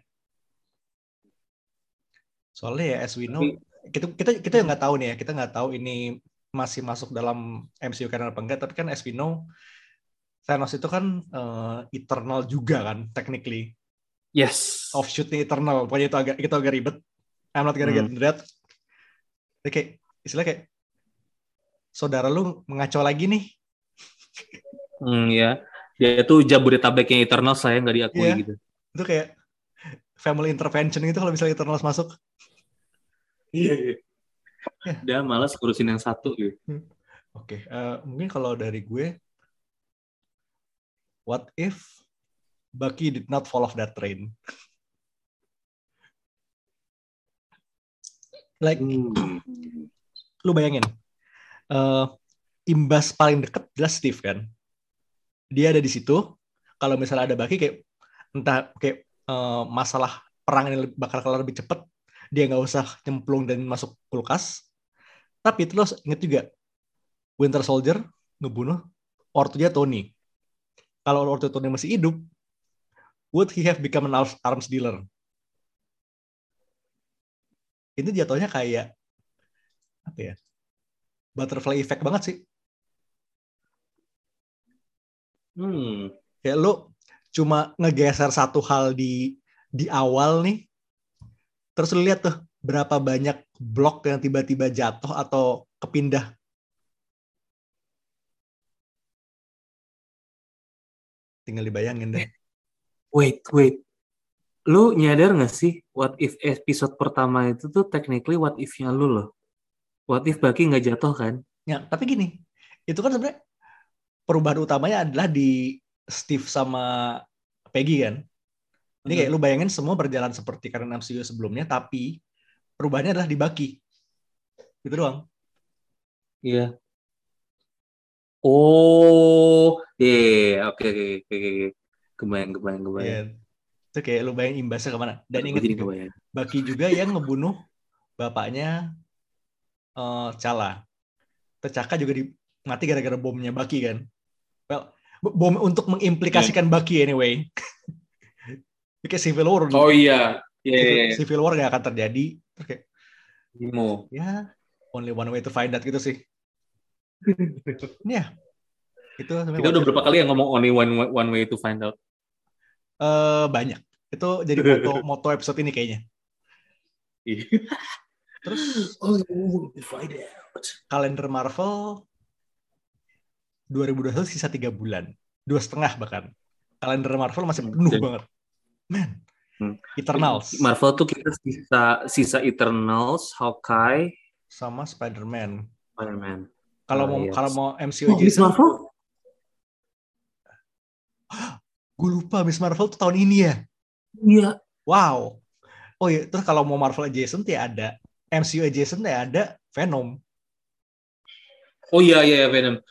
Soalnya ya as we know, Tapi kita kita kita nggak tahu nih ya, kita nggak tahu ini masih masuk dalam M C U canon apa enggak, tapi kan as we know Thanos itu kan eh, Eternal juga kan, technically. yes. Offshoot-nya Eternal, pokoknya itu agak itu agak ribet. I'm not gonna get Hmm. into that. Tapi kayak istilah kayak saudara lu mengacau lagi nih. Hmm, ya. Dia tuh Jabodetabeknya Eternal saya nggak diakui Iya. gitu. Itu kayak family intervention gitu kalau misalnya Eternals masuk. Iya. iya. Ya. Dia malas ngurusin yang satu gitu. Hmm. Oke, eh, mungkin kalau dari gue, what if Bucky did not fall off that train? Like, Hmm. lu bayangin, eh, imbas paling deket jelas Steve kan. Dia ada di situ. Kalau misalnya ada Bucky kayak entah kayak eh, masalah perang ini bakal kelar lebih cepet, dia nggak usah nyemplung dan masuk kulkas. Tapi itu lo inget juga, Winter Soldier ngebunuh ortunya Tony. Kalau ortu Tony masih hidup, would he have become an arms dealer? Itu jatuhnya kayak apa ya? Butterfly effect banget sih. Hmm. Kayak lo cuma ngegeser satu hal di di awal nih, terus lu lihat tuh berapa banyak blok yang tiba-tiba jatuh atau kepindah. Tinggal dibayangin deh. Wait, wait. Lu nyadar nggak sih what if episode pertama itu tuh technically what if-nya lu loh. What if Bucky nggak jatuh kan? Ya, tapi gini, itu kan sebenarnya perubahan utamanya adalah di Steve sama Peggy kan. Ini kayak lu bayangin semua berjalan seperti karena M C U sebelumnya, tapi perubahannya adalah di Bucky. Gitu doang. Iya. Oh, iya, oke, oke, oke, oke. Kebayang, kebayang, kebayang. Yeah. Itu kayak lu bayangin imbasnya kemana. Dan inget Jadi juga, kebayang. Bucky juga yang ngebunuh bapaknya uh, Chala. T'Chaka juga di, mati gara-gara bomnya Bucky kan. Well, bom untuk mengimplikasikan yeah. Bucky anyway. Kayak Civil War. Oh iya. Yeah, Civil, yeah, yeah. Civil War gak akan terjadi. Terus kayak, Imo. ya, only one way to find that gitu sih. Ya. Itu kita udah berapa kali yang ngomong only one, one way to find out? Uh, banyak. Itu jadi moto, moto episode ini kayaknya. Terus only one way to find out. Kalender Marvel dua ribu dua puluh satu sisa tiga bulan. Dua setengah bahkan. Kalender Marvel masih penuh Dan, banget. Man. Hmm. Eternals. Marvel tuh kita sisa sisa Eternals, Hawkeye sama Spider-Man. Spider-Man. Kalau oh, mau yes. kalau mau M C U oh, Miss Marvel? Gue lupa Miss Marvel tuh tahun ini ya. Iya. Wow. Oh iya, terus kalau mau Marvel adjacent ya ada M C U adjacent ya ada Venom. Oh iya iya Venom.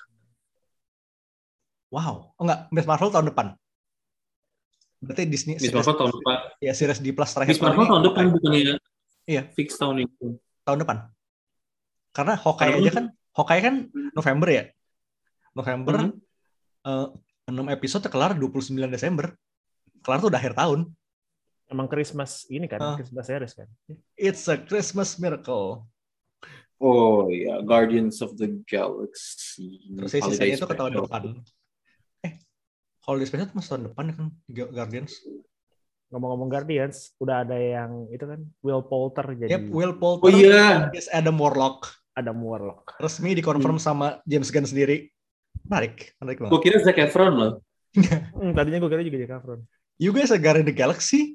Wow. Oh enggak, Miss Marvel tahun depan. Berarti Disney Miss Marvel tahun depan. Ya, series di Plus terakhir Miss Marvel tahun depan bukannya. Iya, fix tahun itu. Tahun depan. Karena Hawkeye aja kan, Hawkeye kan November ya. November mm-hmm. uh, enam episode kelar dua puluh sembilan Desember. Kelar tuh udah akhir tahun. Emang Christmas ini kan, uh, Christmas series kan. It's a Christmas miracle. Oh ya, yeah. Guardians of the Galaxy. Terus sisanya itu ke tahun depan. Eh, Holiday Special itu masih tahun depan ya kan, Guardians. Ngomong-ngomong Guardians, udah ada yang itu kan Will Poulter jadi. Yep, Will Poulter. Oh iya. Is Adam Warlock. Adam Warlock. Resmi dikonfirm hmm. sama James Gunn sendiri. Menarik, menarik banget. Gue kira Zac Efron loh. hmm, tadinya gue kira juga Zac Efron. You guys are Guardians of the Galaxy?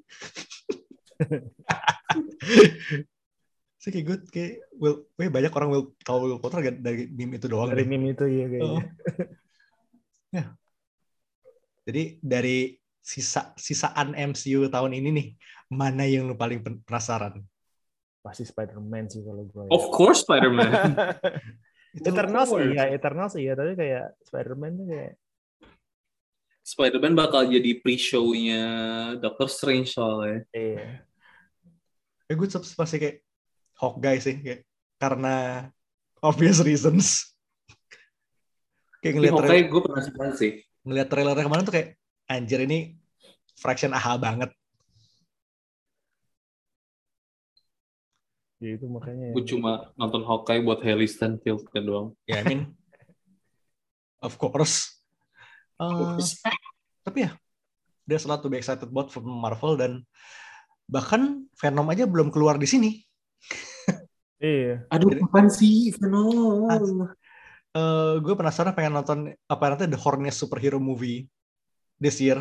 Saya kayak gue kayak Will, weh banyak orang Will tahu Will Poulter dari meme itu doang. Dari deh. meme itu ya kayaknya. Oh. Ya. Jadi dari sisa sisaan M C U tahun ini nih, mana yang lu paling penasaran? Pasti Spider-Man sih kalau gue. Of course Spider-Man. Eternals iya, Eternals iya, tapi kayak Spider-Man tuh kayak Spider-Man bakal jadi pre-show-nya Doctor Strange soalnya. Iya. Ya gue pasti kayak Hawkeye sih, kayak karena obvious reasons. Kayak ngeliat Hawkeye gue penasaran sih. Ngeliat trailernya kemarin tuh kayak anjir ini fraction A H A banget. Ya itu makanya. Gue cuma nonton Hawkeye buat Hailey Steinfeld kan doang. Ya, yeah, I mean, of course. Uh, tapi ya, there's a lot to be excited about from Marvel dan bahkan Venom aja belum keluar di sini. Iya. Aduh, kapan sih Venom? Uh, gue penasaran pengen nonton apa nanti The Horniest superhero movie this year.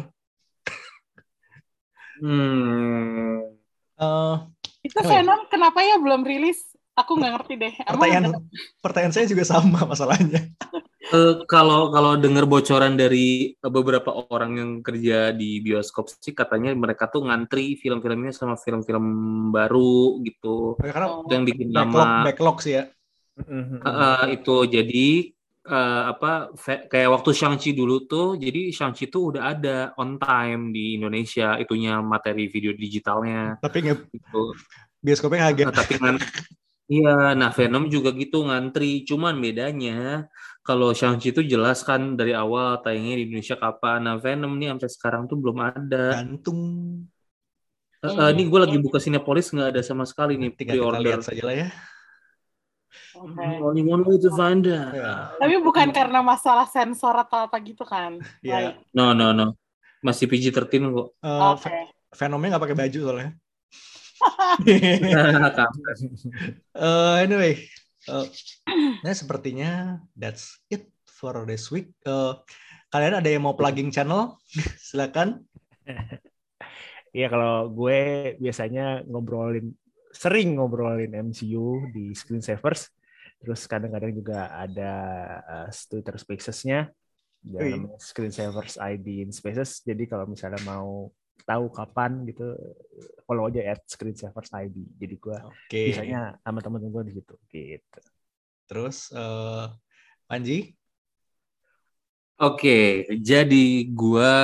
Hmm. Uh, itu Venom ya? Kenapa ya belum rilis? Aku nggak ngerti deh. Pertanyaan, pertanyaan saya juga sama masalahnya. Uh, kalau kalau dengar bocoran dari beberapa orang yang kerja di bioskop sih katanya mereka tuh ngantri film-filmnya sama film-film baru gitu. Ya, karena itu yang bikin backlog, lama. Backlog sih ya. Uh, uh, itu jadi uh, apa fe- kayak waktu Shang-Chi dulu tuh, jadi Shang-Chi tuh udah ada on time di Indonesia itunya materi video digitalnya. Tapi nggak gitu. Bioskopnya kaget. Nah, tapi kan iya, nah Venom juga gitu ngantri. Cuman bedanya kalau Shang-Chi itu jelas kan dari awal tayangnya di Indonesia kapan. Nah Venom nih sampai sekarang tuh belum ada. Gantung. Uh, uh, ini gue lagi buka Cinepolis nggak ada sama sekali nih pre-order. Kita lihat saja lah ya. Okay. Only one way to find out. Yeah. Tapi bukan karena masalah sensor atau apa gitu kan? Iya. Yeah. No no no, masih P G thirteen kok. Uh, okay. Venomnya nggak pakai baju soalnya. uh, anyway, uh, nah sepertinya that's it for this week. Uh, kalian ada yang mau plugging channel? Silakan. Iya, kalau gue biasanya ngobrolin, sering ngobrolin M C U di Screensavers. Terus kadang-kadang juga ada uh, Twitter Spaces-nya, namanya Screensavers I D in Spaces. Jadi kalau misalnya mau tahu kapan gitu, follow aja at Screensavers I D. Jadi gue okay. biasanya sama teman-teman gue di situ. Gitu. Terus, uh, Panji? Oke, okay, jadi gue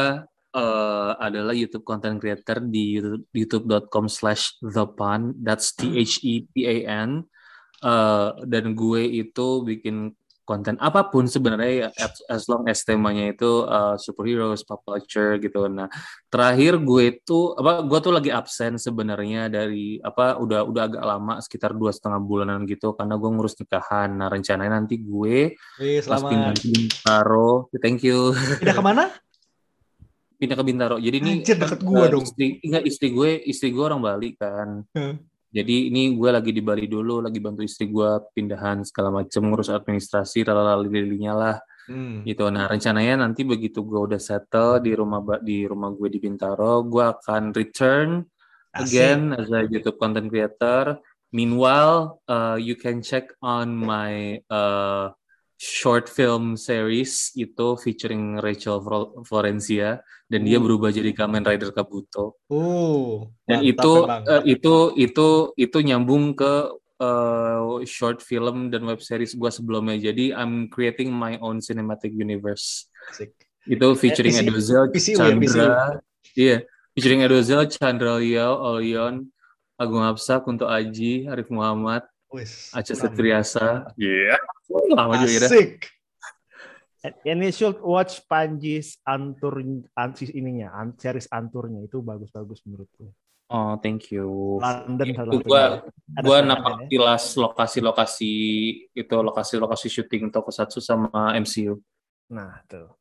uh, adalah YouTube content creator di youtube dot com slash the pan, that's T H E P A N. Uh, dan gue itu bikin konten apapun sebenarnya as, as long as temanya itu uh, superheroes, pop culture gitu. Nah, terakhir gue itu apa gue tuh lagi absen sebenarnya dari apa udah udah agak lama sekitar dua setengah bulanan gitu karena gue ngurus nikahan. Nah, rencananya nanti gue Wih, pas pindah selamat. ke Bintaro, thank you. Pindah kemana? Pindah ke Bintaro. Jadi ini Anjir, kan, deket gua uh, dong. istri enggak istri gue, istri gue orang Bali kan. Hmm. Jadi ini gue lagi di Bali dulu, lagi bantu istri gue pindahan segala macam, ngurus administrasi, lalala-lilinya lah, Hmm. gitu. Nah rencananya nanti begitu gue udah settle di rumah di rumah gue di Bintaro, gue akan return again Asik. as a YouTube content creator. Meanwhile, uh, you can check on my uh, short film series itu featuring Rachel Florencia dan dia Uh. berubah jadi Kamen Rider Kabuto. Uh, Dan mantap itu emang. uh, itu itu itu nyambung ke uh, short film dan web series gue sebelumnya. Jadi I'm creating my own cinematic universe. Asik. Itu featuring P C Edozel, P C U ya, P C U. Chandra, iya, featuring Edozel, Chandra Liao, Olion, Agung Hapsa, Kunto Aji, Arif Muhammad, Wis, Aca keren. Septriasa. Iya. Yeah. Lama juga ya. Asik. And you should watch Panji's antur ansis ininya, an- series anturnya itu bagus-bagus menurutku. Oh, thank you. London Itu satu-satunya. gua Ada gua Spider-Man napak ya. tilas lokasi-lokasi itu lokasi-lokasi syuting Tokusatsu sama M C U. Nah, tuh.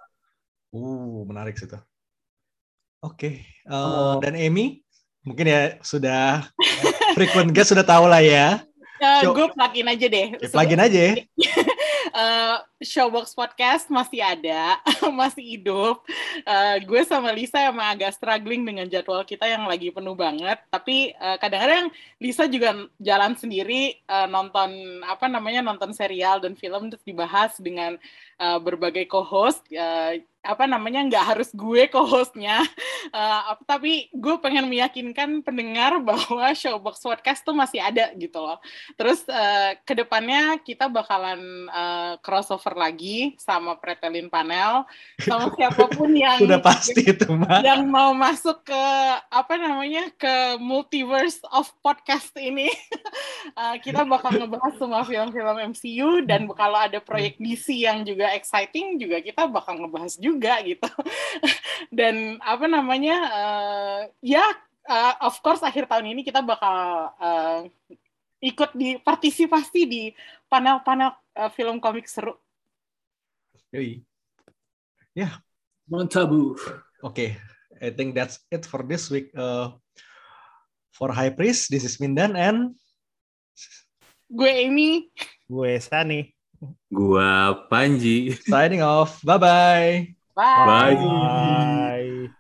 Uh, menarik sih tuh. Oke, uh, Oh. dan Amy mungkin ya sudah frequent guest sudah tahu lah ya. Uh, Show- gue plugin aja deh. Ya, plugin aja ya. Uh, Showbox Podcast masih ada, masih hidup. Uh, gue sama Lisa emang agak struggling dengan jadwal kita yang lagi penuh banget. Tapi uh, kadang-kadang Lisa juga jalan sendiri uh, nonton apa namanya nonton serial dan film terus dibahas dengan uh, berbagai co-host. Uh, apa namanya nggak harus gue co-hostnya, uh, tapi gue pengen meyakinkan pendengar bahwa Showbox Podcast tuh masih ada gitu loh. Terus uh, kedepannya kita bakalan uh, crossover lagi sama Pretelin Panel, sama siapapun yang Udah pasti itu mah. yang mau masuk ke apa namanya ke multiverse of podcast ini. uh, kita bakal ngebahas semua film-film M C U dan kalau ada proyek D C yang juga exciting juga kita bakal ngebahas juga gitu. Dan apa namanya uh, ya uh, of course akhir tahun ini kita bakal uh, ikut di partisipasi di panel-panel uh, film komik seru. Yoi. Ya, Mantabu. oke. I think that's it for this week. Uh, for High Priest, this is Mindan and Gue Amy. Gue Sani. Gua Panji. signing off. Bye-bye. Bye. Bye. Bye.